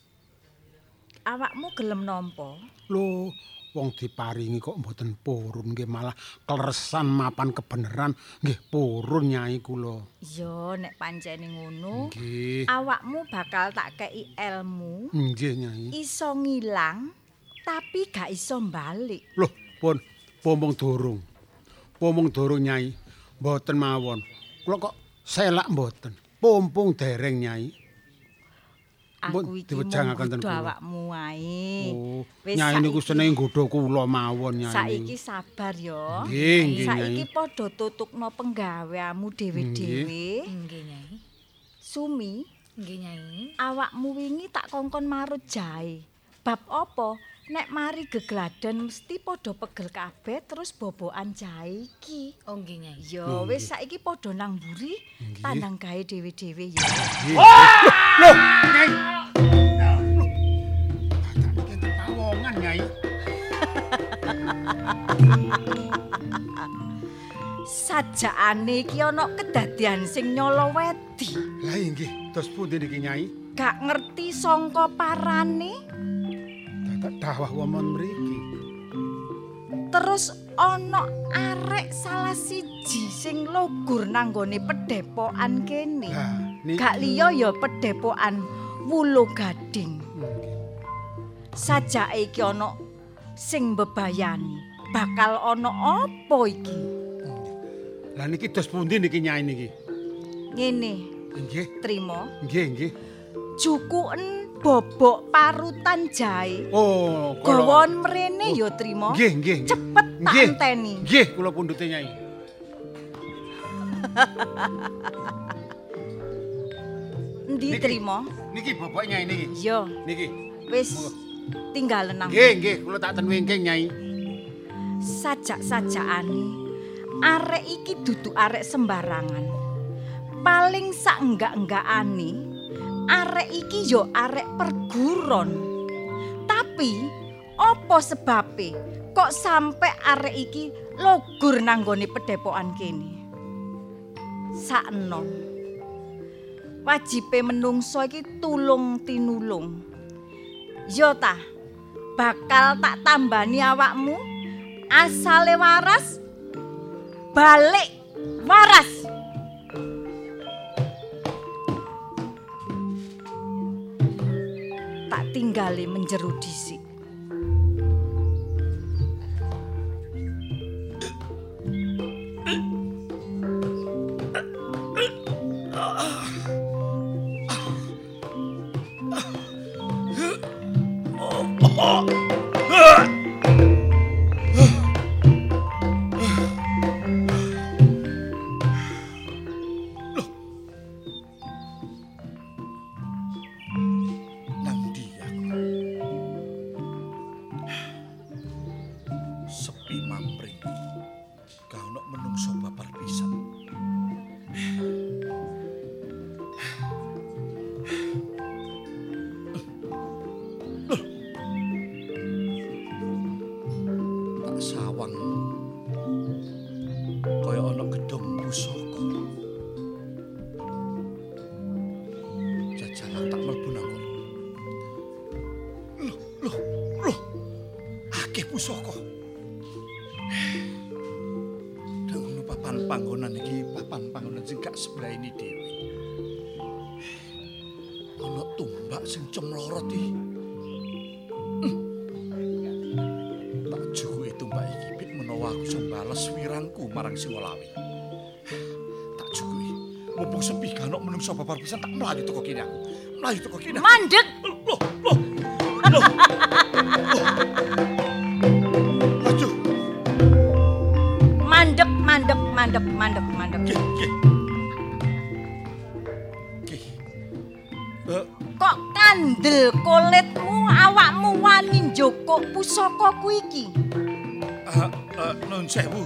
S9: awakmu gelem nampa?
S10: Loh, wong diparingi kok mboten purun nggih malah kleresan mapan kebeneran nggih purun Nyai kula.
S9: Yo nek pancene ngono,
S10: Nggih.
S9: awakmu bakal tak kei ilmu
S10: Nggih Nyai.
S9: iso ngilang tapi gak iso balik.
S10: Loh, pun pomong durung. Pomong durung Nyai. Mboten mawon. Kula kok selak mboten. Pompong dereng Nyai.
S9: Aku iki
S10: diwejangaken ten
S9: nggodha
S10: kula.
S9: awakmu wae.
S10: Oh,
S9: Wis
S10: Nyai niku
S9: saiki-
S10: seneng nggodha kula mawon Nyai.
S9: Saiki sabar yo.
S10: Nggih, nggih,
S9: Saiki
S10: Nyai.
S9: padha tutukno penggaweanmu dhewe-dhewe.
S5: Nggih, Nyai.
S9: Sumi,
S5: Nggih, Nyai.
S9: awakmu wingi tak kongkon marut jahe. Bab apa? Nek mari gegladan mesti padha pegel kabeh terus bobokan jahe iki.
S5: Oh, nggih, Nyai.
S9: Yo wis saiki padha nang mburi tandang gawe dhewe-dhewe ya.
S10: Loh, Nyai. Loh, tak tawongan Nyai.
S9: Sajakane iki ana kedadian sing nyala wedi.
S10: Lah nggih, dos pundi niki Nyai?
S9: Gak ngerti sangka parane.
S10: Dadak dawah wonten mriki.
S9: Terus ana arek salah siji sing logur nanggone pedhepokan kene.
S10: Lah, niki
S9: Gak liya ya pedhepokan Wulo Gading. Sajake iki ana sing mbebayani. Bakal ana apa iki?
S10: Lah niki dos pundi niki Nyai niki?
S9: Ngene,
S10: Nggih,
S9: trima.
S10: nggih.
S9: Jukuken bobok parutan jahe.
S10: Oh,
S9: Gawon mrene ya trima.
S10: Nggih.
S9: Cepet tak
S10: Nggih.
S9: enteni.
S10: Nggih, kula pundhute Nyai.
S9: Endi trima?
S10: Niki bobok Nyai niki.
S9: Iya,
S10: Niki.
S9: wis tinggal nang.
S10: Nggih, kula tak ten wingking Nyai.
S9: Sajak-sajakane arek iki dudu arek sembarangan. Paling sak enggak-enggakane arek iki yo arek perguron. Tapi apa sebabe kok sampe arek iki logur nanggone pedhepokan kene? Sakno. Wajibe menungso iki tulung tinulung. Yo ta, bakal tak tambani awakmu. Asale waras, balik waras. Tak tinggali menjeru dhisik.
S7: Nang ndi aku? lawang kaya ana gedhong pusaka. Jajalan tak mlebu nang kono. Loh. Akeh pusaka. Dangono papan panggonan iki papan panggonan sing gak sebrahini dhewe. Ana tumbak sing cemlorot iki. Tak jukuke tumbak iki pit menawa aku iso bales wirangku marang Singolawi. Tak jukuke. Mumpung sepi kan ono menungso babar pisan tak mlayu teko kene aku. Mlayu teko kene.
S9: Mandeg.
S7: Loh. Aduh.
S9: Mandeg.
S7: Nggih.
S9: Kok kandel kulitmu awakmu wani njokok pusaka ku iki?
S7: Nun sewu.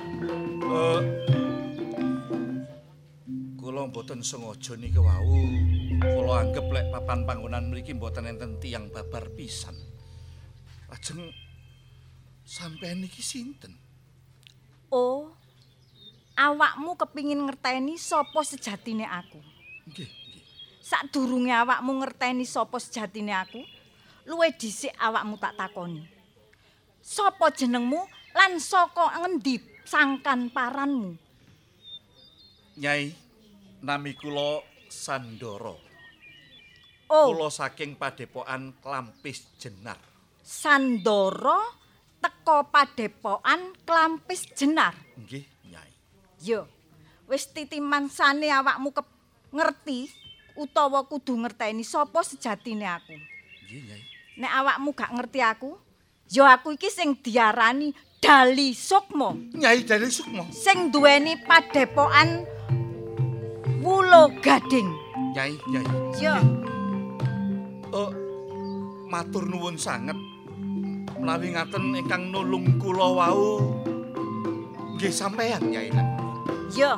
S7: Kula mboten sengaja niki wau. Kula anggap lek papan panggonan mriki mboten enten tiyang babar pisan. Lajeng sampeyan niki sinten?
S9: Oh. Awakmu kepingin ngerteni sapa sejatine aku.
S7: Nggih.
S9: Sadurunge awakmu ngerteni sapa sejatine aku, luwih dhisik awakmu tak takoni. Sapa jenengmu lan saka ngendi sangkan paranmu?
S7: Nyai, nami kula Sandoro.
S9: Oh,
S7: Kula saking Padepokan Klampis Jenar.
S9: Sandoro teko Padepokan Klampis Jenar.
S7: Nggih, Nyai.
S9: Yo, wis titimansane awakmu ngerti utawa kudu ngerteni sapa sejatine aku.
S7: Nggih, Nyai.
S9: Nek awakmu gak ngerti aku, ya aku iki sing diarani Dali Sukma.
S7: Nyai Dali Sukma.
S9: Sing duweni Padepokan Wulo Gading.
S7: Nyai.
S9: Yo,
S7: Matur nuwun sanget. Menawi ngaten ingkang nulung kula wau nggih sampeyan, Nyai.
S9: yo.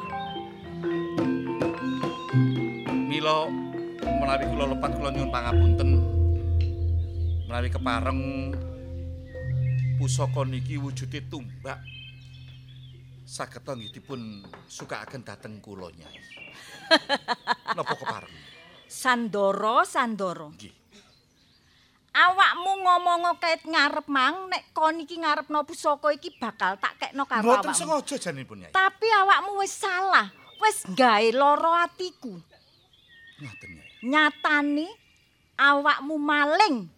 S7: Mila menawi kula lepat kula nyuwun pangapunten. Menawi kepareng pusaka niki wujude tumbak saged nggih dipun sukaaken dhateng kula, Nyai. Napa kepareng?
S9: Sandoro.
S7: Nggih.
S9: Awakmu ngomong kait ngarep mang nek kon iki ngarepno pusaka iki bakal tak kekno karo
S7: Mboten
S9: awakmu.
S7: sengaja janipun, Nyai.
S9: Tapi awakmu wis salah, wis gawe lara atiku.
S7: Ngoten, Nyai.
S9: Nyatane awakmu maling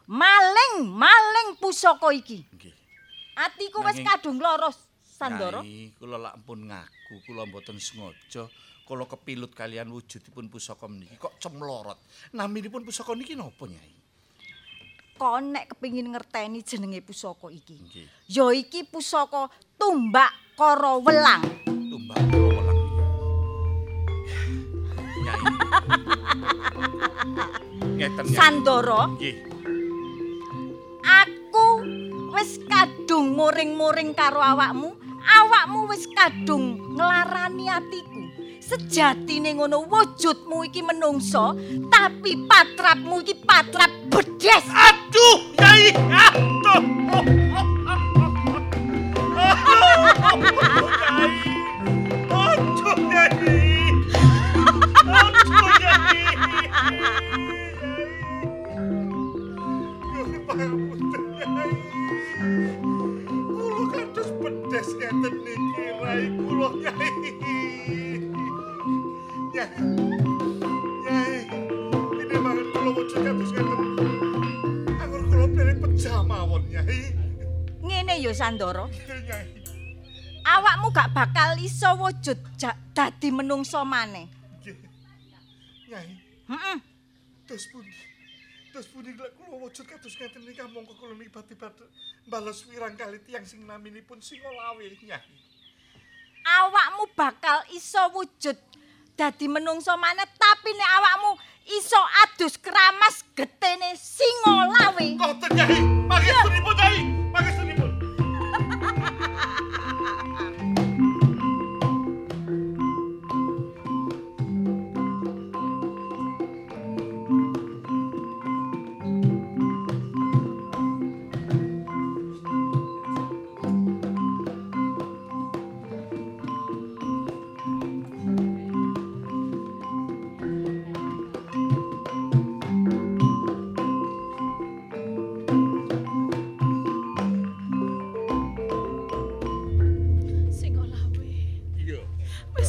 S9: pusaka iki.
S7: Nggih.
S9: Atiku wis
S7: Nanging-
S9: kadung lara, Sandoro.
S7: Nyai, kula lak ampun ngaku, kula mboten sengaja. Kula kepilut kalian wujudipun pusaka niki kok cemlorot. Naminipun pusaka niki napa, Nyai?
S9: Kon nek kepingin ngerteni jenenge pusaka iki.
S7: Nggih.
S9: Ya iki pusaka Tumbak Kara Welang.
S7: Tumbak kula welang. Nyai. Ngeten, Nyai.
S9: Sandoro,
S7: Nggih.
S9: aku wis kadung muring-muring karo awakmu. Awakmu wis kadung nglarani atiku. Sejatine ngono wujudmu iki menungso, tapi patrapmu iki patrap bedes.
S7: Aduh, Nyai. Aduh. Aduh, Nyai. Kula kados pedes ngeten niki rai kula, Nyai. Nyai, ini banget kula wujud kados ngeten. Anggur kula pilih pecah mawon, Nyai.
S9: Ngene ya Sandoro,
S7: Nyai.
S9: awakmu gak bakal iso wujud dadi menungso maneh.
S7: Nyai,
S9: Heeh.
S7: dos pundi lek kula wujud kados ngeten niki mongko kula nibat-nibat balas wirang kali tiyang sing naminipun Singolawi, Nyai.
S9: Awakmu bakal iso wujud dadi menungso maneh, tapi nek awakmu iso adus keramas getene Singolawi.
S7: Ngoten, Nyai. Pangestunipun, Nyai. Pangestunipun.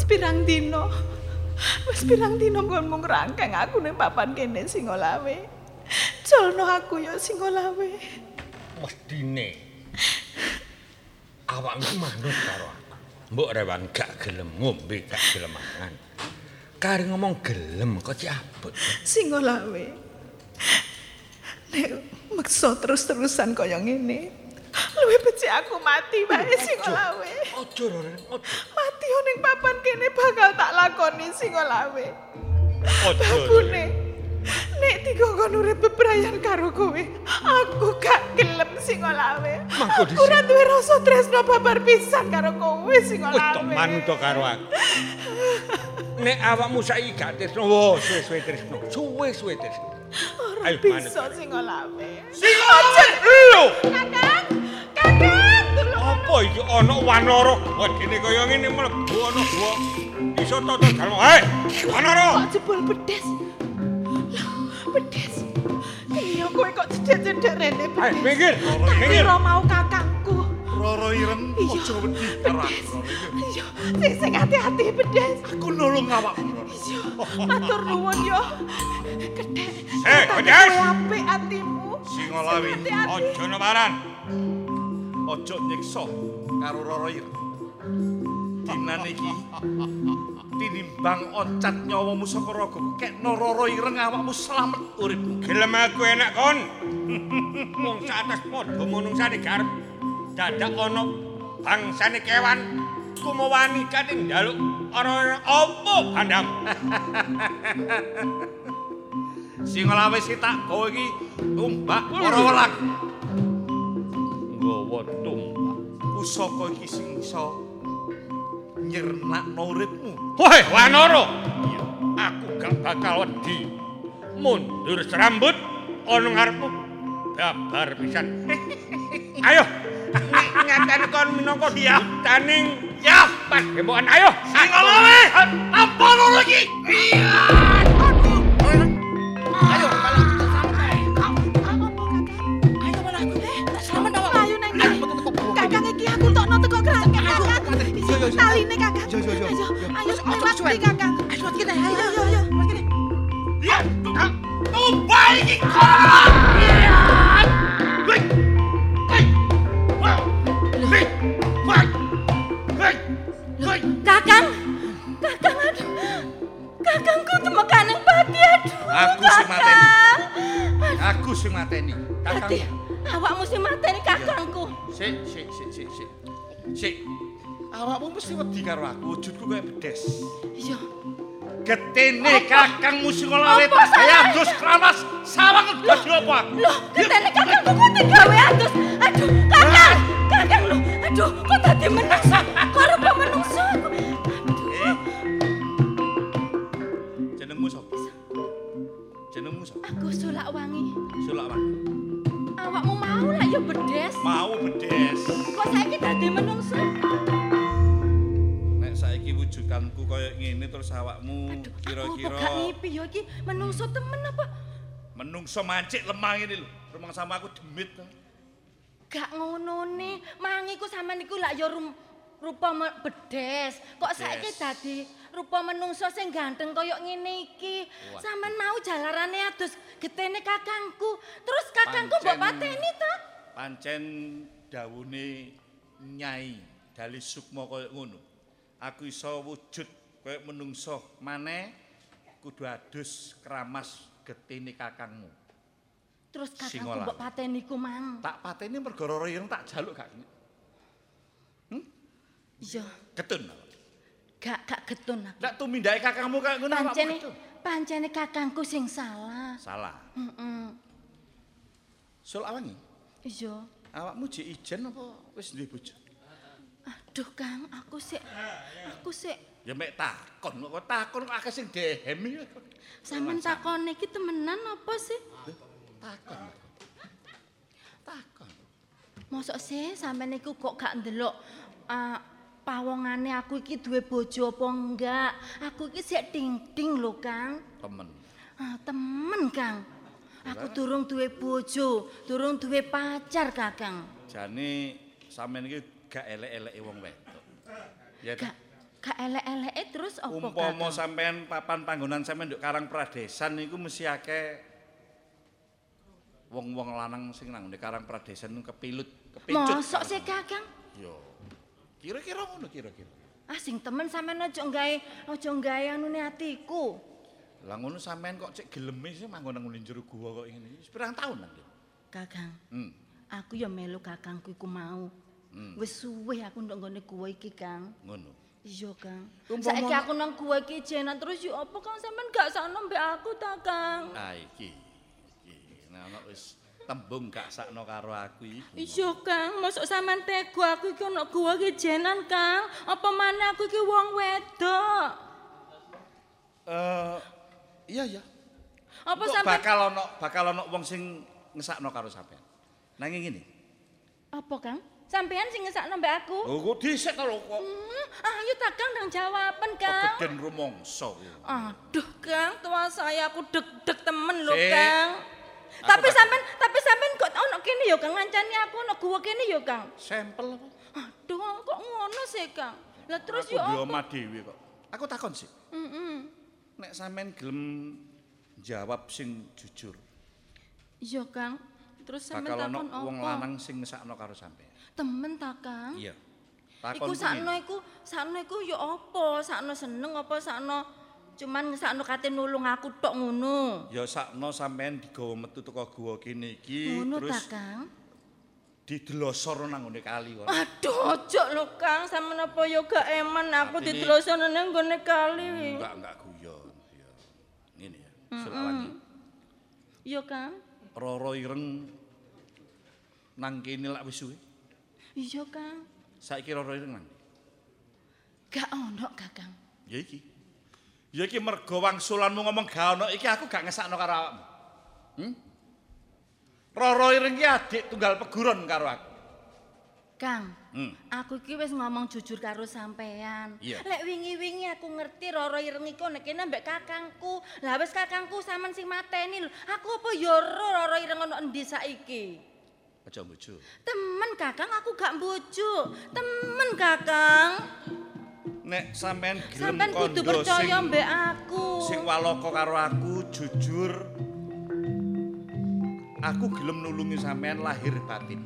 S4: pirang dina? Wis pirang dina nggon mung rangkeng aku ning papan kene Singolawe. Jalno aku ya Singolawe.
S2: Mestine awakmu manut karo aku. Mbok rewan gak gelem ngombe, gak gelem mangan. Kare ngomong gelem kok ciabut.
S4: Singolawe. Nek meksa terus-terusan kaya ngene, luwih becik aku mati wae Singolawe.
S2: Ojo Roro, ojo.
S4: Mati ning papan kene bakal tak lakoni Singolawe.
S2: Ojo.
S4: Bakune nek dikongkon urip bebrayan karo kowe, aku gak gelem Singolawe.
S2: Mangko
S4: Ora duwe rasa tresno babar pisan karo kowe Singolawe.
S2: Wis tok manut karo aku. Nek awakmu saiki gak tresno, suwe-suwe tresno. Suwe-suwe tresno.
S4: Ora bisa Singolawe.
S2: Singolawe. Lho.
S4: Kakang, Kakang, tulung.
S2: Apa iki ana wanara gedene kaya ngene mlebu ana gua. Iso toto dalem. Hei, wanara.
S4: Kok jebul bedes. Bedes. Iya kowe kok cedhek-cedhek rene bedes.
S2: Hei, minggir.
S4: Tak kira mau kakangku.
S7: Roro Ireng aja wedi karo aku.
S4: Iya, sing hati-hati bedes.
S7: Aku nulung awakmu.
S4: Iya, matur nuwun yo. Gedhe.
S2: Bedes.
S4: Apik atimu.
S7: Singolawe,
S2: Aja newaran.
S7: aja nyiksa karo Roro Ireng. Dinan iki tinimbang oncat nyawamu saka ragamu, kekno Roro Ireng awakmu slamet uripmu.
S2: Gelem aku enak kon. Wong sates padha manungsane garep. Dadak ana bangsane kewan kumawani kate njaluk ana apa bandang.
S7: Singolawe sing tak gawa iki tumbak para welang.
S2: Nggawa tumbak.
S7: Pusaka iki sing iso nyernakno uripmu.
S2: Woi, Wanara. Aku gak bakal wedi. Mundur serambut ana ngarepmu. Babar pisan. Ayo. Ngaten kon minangka ditaning ya pas gembokan. Ayo.
S7: Singolawe, apa loro iki?
S4: Ayo, malah ayo malah aku selamat awak. Ayo nang Kakang iki aku tokno teko kerangkeng Kakang. Taline Kakang. Ayo, ayo suwe Kakang. Ayo kita. Ayo.
S7: Ya, tumbak iki.
S9: Kakang, aduh. Kakangku temekaneng pati, aduh.
S7: Aku sing mateni.
S9: Dadi awakmu sing mateni kakangku.
S7: Sik. Awakmu mesti wedi karo aku, wujudku kaya bedes.
S9: Iya.
S7: Getene kakangmu Singolawe tak gawe adus kramas sawang dadi apa aku?
S9: Loh, getene kakangku kok digawe adus. Aduh, kakang lho. Aduh, kok dadi menungso? Kok rupa menungso aku.
S7: Jenengmu sapa?
S9: Aku Sulakwangi.
S7: Sulakwangi.
S9: Awakmu mau lah ya bedes.
S7: Mau bedes.
S9: Kok saiki dadi menungso?
S7: Nek saiki wujudanku kaya ngene terus awakmu kira-kira
S9: Gak ngipi ya iki menungso temen apa?
S7: menungso mancik lemah ngene lho. Rumang sama aku demit.
S9: Gak ngono ne, mangiku sampean iku lak ya rupa bedes. Kok saiki dadi rupa menungso sing ganteng kaya ngene iki. Sampean mau jalarane adus getene kakangku. Terus kakangku mbok pateni to?
S7: Pancen dawuhe Nyai Dali Sukma kaya ngono. Aku iso wujud kaya menungso maneh kudu adus keramas getene kakangmu.
S9: Terus kakangku mbok pateni ku mang.
S7: Tak pateni mergo Roro Ireng tak jaluk gak.
S9: Iya.
S7: Ketun.
S9: Gak getun aku.
S7: Lek tumindake kakangmu kaya ngono awakmu.
S9: Pancene kakangku sing salah.
S7: Salah.
S9: Heeh.
S7: Sulakwangi.
S9: Iya.
S7: Awakmu jek ijen apa wis duwe bojo?
S9: Aduh Kang, aku sik.
S7: Ya mek takon kok takon akeh sing dehem iki.
S9: Sampeyan takon iki temenan apa sih?
S7: Takon.
S9: Mosok sih sampeyan iku kok gak ndelok pawongane aku iki duwe bojo apa enggak? Aku iki sik ting-ting lho, Kang.
S7: Temen.
S9: Temen, Kang. Aku durung duwe bojo, durung duwe pacar, Kakang.
S7: Jane sampeyan iki gak elek-eleki wong wedok. Ya ta?
S9: Gak elek-eleke terus apa
S7: Umpama sampean papan panggonan sampean nduk Karang Pradesan niku mesti akeh wong-wong lanang sing nang ndek Karang Pradesan kepilut, kepicut.
S9: Mosok sih Kakang?
S7: Yo. Kira-kira ngono kira-kira.
S9: Ah sing temen sampean aja nggawe anune atiku.
S7: Lah ngono sampean kok cek geleme sih manggon nang njero gua kok ngene. Wis pirang taun nang.
S9: Kakang. Aku ya melu kakangku iku mau. Wis suwe aku ndok nggone gua iki, Kang.
S7: Ngono.
S9: Iya, Kang. Saiki aku nang gua iki jenan terus yo apa Kang sampean gak sakno mbek aku ta, Kang?
S7: Ah iki. Nah wis tembung gak sakno karo aku iki.
S9: Iya, Kang. Mosok sampean tega aku iki ana gua iki jenan, Kang. Apa maneh aku iki wong wedok?
S7: Iya.
S9: Apa
S7: sampean bakal ana wong sing ngesakno karo sampean. Nanging ngene.
S9: Apa, Kang? Sampean sing ngesakno mbek aku?
S7: Oh, kok dhisik to lho kok.
S9: Ayo ta Kang nang jawaban, Kang.
S7: Geden rumangsa.
S9: Aduh, Kang, tua saya aku deg-deg temen lho, Kang. Tapi sampean kok ono kene ya, Kang, ngancani aku ono gua kene ya, Kang.
S7: Sampel apa?
S9: Aduh, kok ngono sih, Kang? Lah terus
S7: yo
S9: apa?
S7: Aku omah dhewe kok. Aku takon sih. Nek sampean gelem jawab sing jujur.
S9: Iya, Kang. Terus sampean
S7: bakal
S9: takon
S7: ono wong lanang sing ngesakno karo sampean.
S9: Temen ta, Kang?
S7: Iya.
S9: Iku sakno iku ya apa? Sakno seneng apa sakno cuman ngesakno kate nulung aku tok ngono?
S7: Ya sakno sampean digawa metu teko gua kene iki
S9: terus ta, Kang?
S7: Didelosor nang ngene kali kok.
S9: Aduh, ojo lho, Kang. Sampeyan apa ya gak eman aku didelosor nang ngene kali.
S7: Enggak guyon. Ya. Ngene ya. Selawangi.
S9: Iya, Kang.
S7: Roro ireng nang kene lak wis suwe.
S9: Iya, Kang.
S7: Saiki Roro ireng nang.
S9: Gak ono, Kakang.
S7: Ya iki. Ya iki mergo wangsulanmu ngomong gak ono iki aku gak ngesakno karo awakmu. Roro ireng iki adik tunggal peguron karo aku.
S9: Kang, aku iki wis ngomong jujur karo sampean. Lek wingi-wingi aku ngerti Roro ireng iku nek kene mbek kakangku. Lah wis kakangku sampean sing mateni lho. Aku apa ya Roro ireng ono endi saiki?
S7: Aja mbojo.
S9: Temen Kakang, aku gak mbojo. Temen Kakang.
S7: Nek sampean gelem
S9: sampean kudu percaya mbek aku.
S7: Sing walaka karo aku jujur. Aku gelem nulungi sampean lahir batin.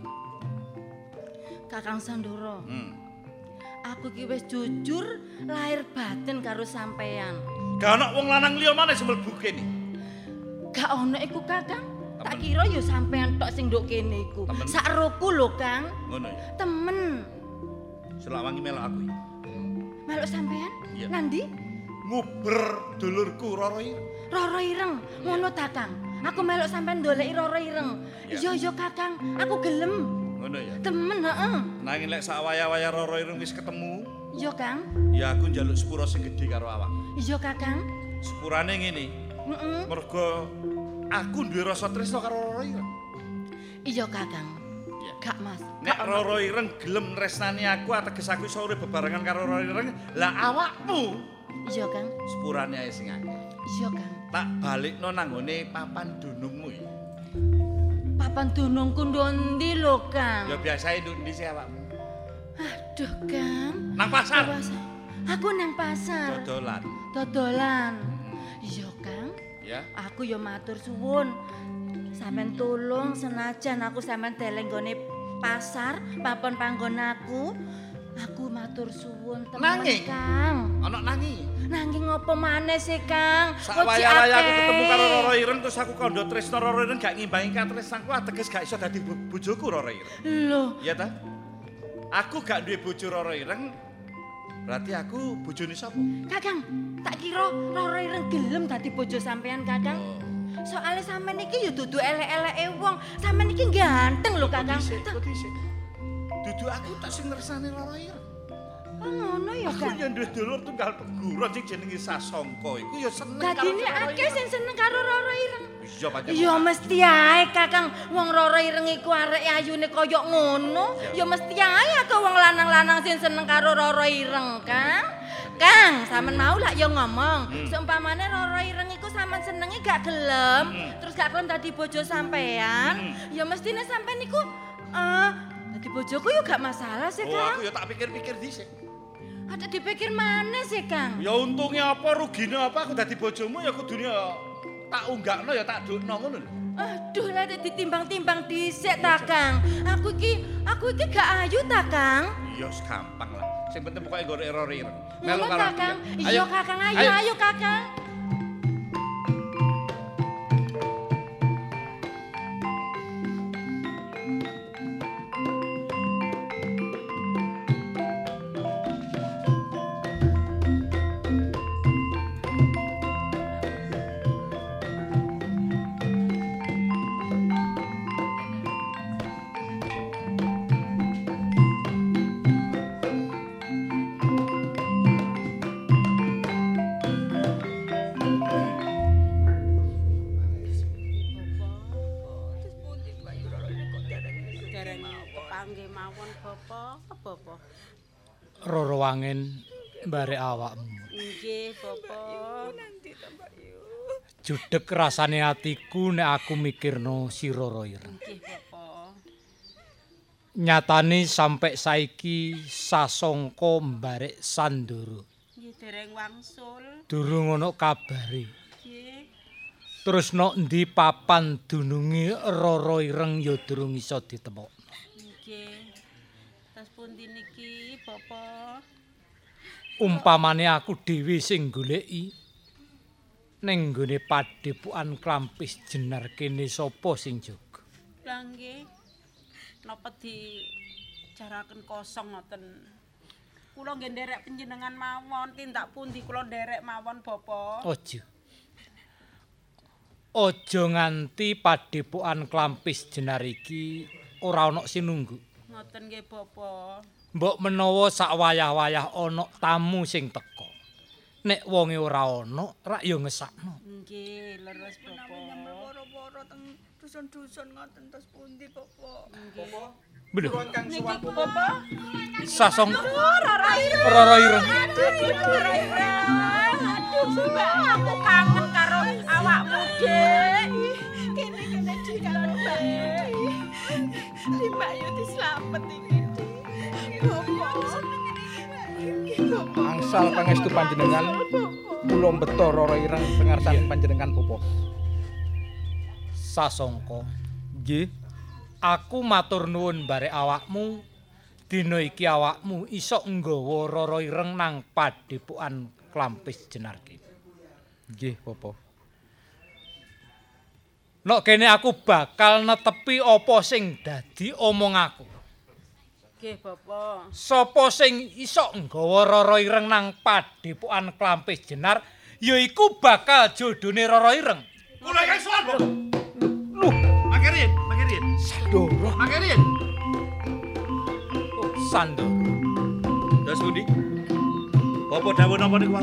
S9: Kakang Sandoro. Aku ki wis jujur lahir batin karo sampean.
S7: Gak ono wong lanang liya maneh sing mlebu kene.
S9: Gak ono iku, Kakang. Tak kira ya sampean tok sing nduk kene iku. Sak roku lho, Kang.
S7: Ngono ya.
S9: Temen.
S7: Selawangi melok aku iki.
S9: Melok sampean? Nandi?
S7: Nguber dulurku Roro Ireng.
S9: Roro Ireng, ngono ta, Kang? Aku melok sampean ndoleki Roro Ireng. Iya, Kakang, aku gelem.
S7: Ngono ya.
S9: Temen, heeh.
S7: Nanging lek sak waya-waya Roro Ireng wis ketemu.
S9: Iya, Kang.
S7: Ya aku njaluk sepura sing gedhe karo awak.
S9: Iya, Kakang.
S7: Sepurane ngene. Mergo aku duwe rasa tresno karo Roro Ireng.
S9: Iya, Kakang. Gak, Mas.
S7: Nek Roro Ireng gelem tresnani aku ateges aku iso urip bebarengan karo Roro Ireng, lah awakmu.
S9: Iya, Kang.
S7: Sepurane ae sing akeh.
S9: Iya, Kang.
S7: Tak balikno nang ngone papan dunungmu iki.
S9: Papan dunungku ndi lho, Kang?
S7: Ya biasae ndi sih awakmu.
S9: Aduh, Kang.
S7: Nang pasar.
S9: Aku nang pasar. Dodolan. Iya, Kang.
S7: Ya.
S9: Aku ya matur suwun. Sampeyan tulung senajan aku sampeyan deleng gone pasar, papan panggon aku. Aku matur suwun temen, Kang.
S7: Ana nanging.
S9: Nanging apa maneh sih, Kang?
S7: Sak waya-waya aku ketemu karo Roro Ireng terus aku kandha tresno Roro Ireng gak ngimbangi katresnanku ateges gak iso dadi bojoku Roro Ireng.
S9: Lho.
S7: Iya ta? Aku gak duwe bojo Roro Ireng. Berarti aku bojone sapa?
S9: Kakang, tak kira Roro Ireng gelem dadi bojo sampean, Kakang. Soale sampean iki ya dudu elek-eleke wong. Sampean iki ganteng lho, Kakang.
S7: Dudu aku tak sing ngersani Roro Ireng.
S9: Oh, ngono ya, Kang.
S7: Aku ya duwe dulur tunggal peguron sing jenenge Sasongko iku ya seneng karo.
S9: Dadine akeh sing seneng karo Roro Ireng.
S7: Iya, pancen.
S9: Ya mesti ae, Kakang. Wong Roro Ireng iku arek ayune kaya ngono. Ya mesti ae akeh wong lanang-lanang sing seneng karo Roro Ireng, Kang. Kang, sampean mau lak ya ngomong. Seumpamane Roro Ireng iku sampean senenge gak gelem, terus gak gelem dadi bojo sampean, ya mestine sampean iku dadi bojoku yo gak masalah sih, Kang.
S7: Oh, aku ya tak pikir-pikir dhisik.
S9: Ada dipikir mana sih, Kang?
S7: Ya untungnya apa, rugine apa aku dadi bojomu ya kudune tak unggakno ya tak dukno ngono lho.
S9: Aduh, lah ditimbang-timbang dhisik ta, Kang. Aku iki gak ayu ta, Kang?
S7: Iya, gampang lah. Sing penting pokoke nggo error ireng.
S9: Melu Kakang. Iya, Kakang, ayo Kakang.
S3: Roro Wangen barek awakmu.
S5: Nggih, Bapak.
S3: Judeg rasane atiku nek aku mikirno si Roro Ireng.
S5: Nggih, Bapak.
S3: Nyatane sampai saiki sasongko mbarek Sandoro.
S5: Nggih, dereng wangsul.
S3: Durung ono kabare.
S5: Nggih.
S3: Terus nok endi papan dununge Roro Ireng ya durung iso ditemokno.
S5: Nggih. Tas pundi niki, Bapak?
S3: Umpamane aku dhewe sing goleki ning nggone Padepokan Klampis Jenar kene sapa sing jaga?
S5: Lah nggih. Napa dijaraken kosong ngoten? Kula nggih nderek panjenengan mawon, tindak pundi kula nderek mawon, Bapak?
S3: Aja nganti Padepokan Klampis Jenar iki ora ana sinunggu.
S5: Ngoten nggih, Bapak.
S3: Mbok menawa sak wayah-wayah ana tamu sing teka. Nek wonge ora ana, rak ya ngesakno.
S5: Nggih, leres, Bapak.
S4: Woro-woro teng dusun-dusun ngoten tos pundi, Bapak?
S5: Nggih.
S3: Bener.
S5: Niki, Bapak.
S3: Sasong
S4: Roro Ireng.
S3: Roro Ireng.
S4: Roro Ireng. Aduh, aku kangen karo awakmu, Dek. Kene di karo Mbak. Di Mbak Yu dislamet iki.
S6: Angsal pangestu panjenengan kula mbeta Roro Ireng pengarsan panjenengan Bapak.
S3: Sasongko.
S6: Nggih.
S3: Aku matur nuwun barek awakmu. Dina iki awakmu iso nggawa Roro Ireng nang Padepokan Klampis Jenar kene.
S6: Nggih, Bapak.
S3: Nok kene aku bakal netepi apa sing dadi omong aku.
S5: Nggih, Bapak.
S3: Sapa sing iso nggawa Roro Ireng nang Padepokan Klampis Jenar, yaiku bakal jodone Roro Ireng.
S7: Kula iki sowan, Bapak. Loh, makirin.
S6: Sandoro.
S7: Makirin.
S3: Oh, Sandoro.
S7: Terus pundi? Bapak dawuh napa niku?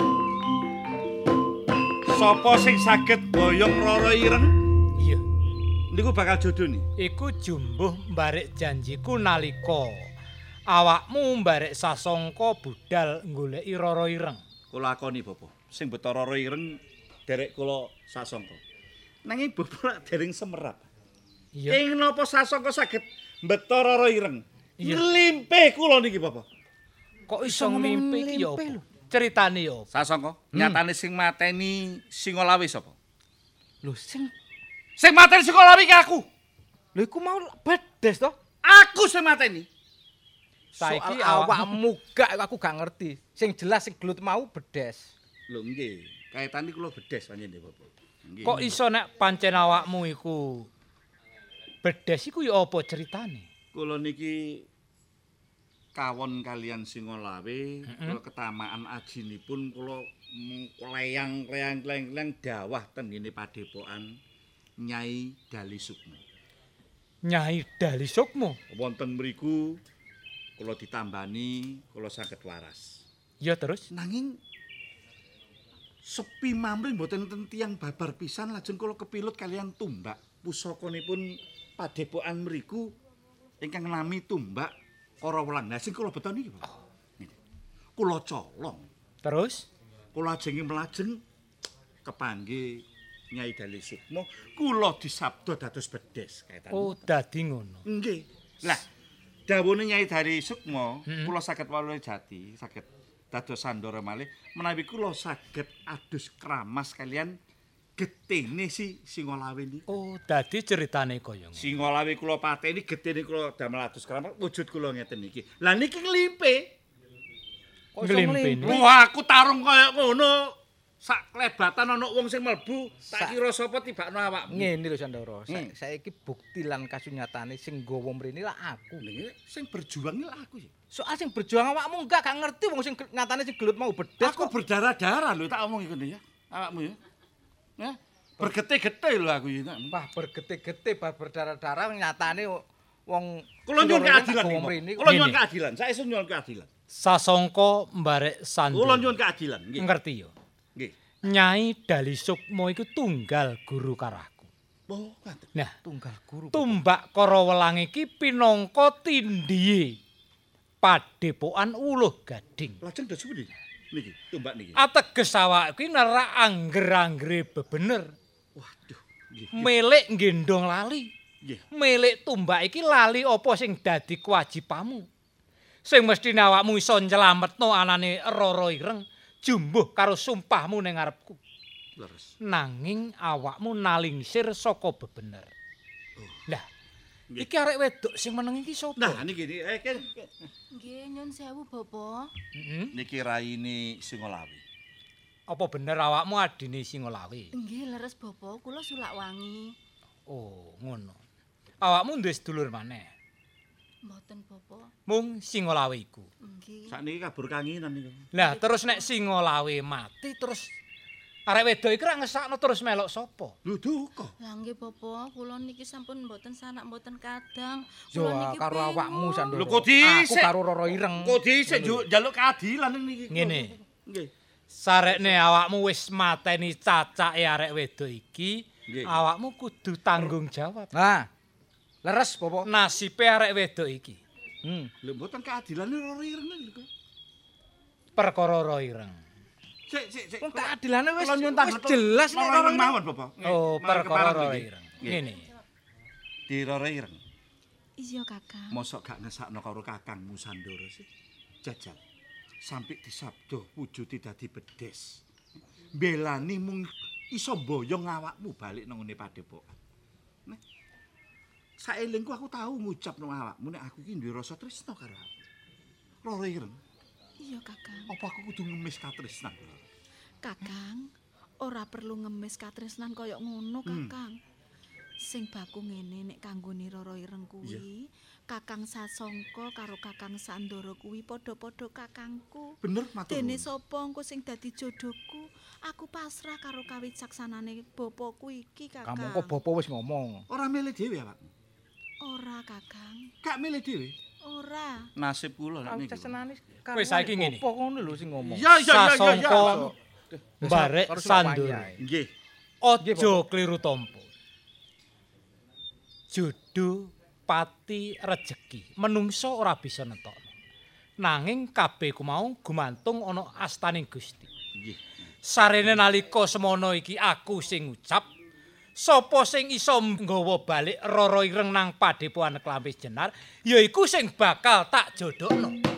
S7: Sapa sing saged boyong Roro Ireng?
S3: Iya.
S7: Niku bakal jodone.
S3: Iku jumbuh mbarek janjiku nalika awakmu mbarek sasongko budal goleki Roro Ireng.
S7: Kula akoni, Bapak. Sing beta Roro Ireng derek kula sasangka. Nanging Bapak dereng semerap.
S3: Iya.
S7: Ing napa sasangka saged mbeta Roro Ireng?
S3: Iya.
S7: Nglimpe kula niki, Bapak.
S3: Kok iso nglimpe iki ya apa? Ceritane ya apa?
S7: Sasangka, nyatane sing mateni Singolawi sapa?
S6: Lho sing
S7: mateni Singolawi ki aku.
S6: lho iku mau bedes to?
S7: Aku sing mateni.
S6: Saiki awakmu gak aku gak ngerti. Sing jelas sing gelut mau bedes.
S7: Lho nggih, kaitane kula bedes panjenengan, Bapak. Nggih.
S3: Kok iso nek pancen awakmu iku bedes iku ya apa ceritane?
S7: Kula niki kawon kalian Singolawi, kula ketamaan ajinipun kula leyang-leyang dawah ten ngene Padepokan Nyai Dali Sukmo.
S3: Nyai Dali Sukmo.
S7: Wonten mriku kula ditambani kula saged waras.
S3: Ya terus
S7: Nanging sepi mamring mboten enten tiyang babar pisan lajeng kula kepilut kalian tumbak pusakanipun Padepokan mriku ingkang nami tumbak Karawelang. Lah sing kula beto niki, Pak. Kula colong.
S3: Terus
S7: Kula ajenge mlajeng kepanggih Nyai Dali Sukmo, kula disabda dados bedes kaitane.
S3: oh dadi ngono.
S7: Nggih. Lah dawuhne Nyai Dari Sukma, kula saged walune jati, saged dados sandara malih menawi kula saged adus kramas kalian getene si Singolawe niku.
S3: Oh, dadi ceritane kaya ngono.
S7: Singolawe kula pateni, getene kula damel adus kramas, wujud kula ngeten iki. Lah niki nglimpe.
S3: Nglimpe.
S7: Wah, aku tarung kaya ngono. Sak klebatan ana wong sing mlebu, tak kira sapa tibakno awakmu.
S6: Ngene lho Sandoro, saiki bukti lan kasunyatane sing nggawa mrene lah aku.
S7: Lha sing berjuang lah aku ya.
S6: Soal sing berjuang awakmu gak ngerti wong sing nyatane sing gelut mau bedes.
S7: Aku berdarah-darah lho tak omong iki ya. Awakmu ya. Ya, bergete-gete lho aku iki.
S6: Wah, bergete-gete bar berdarah-darah nyatane wong
S7: kula nyuwun keadilan. Kula nyuwun keadilan. Saestu nyuwun keadilan.
S3: Sasongko mbarek Sandoro.
S7: Kula nyuwun keadilan nggih.
S3: Ngerti yo.
S7: Nggih.
S3: Nyai Dali Sukma iku tunggal guru karaku.
S7: Oh, ngaten.
S3: Nah,
S6: tunggal guru.
S3: Tumbak Karawelang iki pinangka tindhihe Padepokan Uluh Gading.
S7: Lajeng dados pundi niki tumbak niki?
S3: Ateges awak kuwi nerak angger-anggere bebener.
S7: Waduh, nggih.
S3: Milik nggendong lali.
S7: Nggih.
S3: Milik tumbak iki lali apa sing dadi kewajibanmu. Sing mestine awakmu iso nyelametno anane Rara Ireng. Jumbuh karo sumpahmu ning ngarepku.
S7: Leres.
S3: Nanging awakmu nalingsir saka bebener. Lah, iki arek wedok sing meneng iki sapa?
S7: Nah, niki
S4: Nggih, nyun sewu, Bapak.
S7: niki raine Singolawe.
S3: Apa bener awakmu adine Singolawe?
S4: Nggih, leres Bapak, kula Sulakwangi.
S3: Oh, ngono. Awakmu duwe sedulur maneh?
S4: Mboten, Bapak.
S3: Mung Singolawe iku.
S4: Nggih.
S7: Sakniki kabur kanginan niku.
S3: Lah terus nek Singolawe mati terus arek wedok iki ra ngesakno terus melok sapa?
S7: Lho duka.
S4: Lah nggih Bapak, kula niki sampun mboten sanak mboten kadang.
S6: Yo
S4: Kula niki
S6: karo awakmu Sandoro.
S7: Lho kok dhisik.
S6: Aku karo Rara Ireng.
S7: Kok dhisik njaluk keadilan niki.
S3: Ngene.
S7: Nggih.
S3: Sarekne awakmu wis mateni cacake arek wedok iki, awakmu kudu tanggung jawab.
S6: Nah. Leres, Bapak.
S3: Nasibe arek wedok iki.
S7: Lho mboten keadilan Rara Ireng lho.
S3: Perkara Rara Ireng.
S7: Sik.
S6: Wong keadilane wis
S7: jelas
S6: nek
S7: Rara Ireng mawon, Bapak.
S3: Oh, perkara Rara Ireng. Ngene.
S7: Di Rara Ireng.
S4: Iya, Kakang.
S7: Mosok gak ngesakno karo kakangmu Sandoro sih. Jajal. Sampai disabdo wujude dadi bedes. Belani mung iso mboyong awakmu balik nang ngene Padepokan. Nek saelingku aku tahu ngucap nang awakmu nek aku iki duwe rasa tresna karo awakmu. Rara Ireng.
S4: Iya, Kakang.
S7: Apa aku kudu ngemis katresnan?
S4: Kakang, ora perlu ngemis katresnan kaya ngono, Kakang. Sing baku ngene nek kanggone Rara Ireng kuwi, Kakang Sasongko karo Kakang Sandoro kuwi padha-padha kakangku.
S7: Bener matur.
S4: Dene sapa engko sing dadi jodohku, aku pasrah karo kawicaksanane bapakku iki, Kakang.
S6: Kamu kok bapa wis ngomong.
S7: Ora milih dhewe awakmu.
S4: Ora, Kakang.
S7: Gak milih dhewe.
S4: Ora.
S7: Nasib kula nek niku.
S3: Wis saiki ngene.
S6: Apa ngono lho sing ngomong.
S7: Ya.
S3: Sasongko mbarek Sandoro.
S7: Nggih.
S3: Aja kliru tampa. Jodoh pati rejeki. Menungso ora bisa nentokno. Nanging kabeh ku mau gumantung ana astaning Gusti.
S7: Nggih.
S3: Sarene nalika semono iki aku sing ngucap sapa sing iso nggawa balik Rara Ireng nang Padepokan Klampis Jenar, yaiku sing bakal tak jodohno.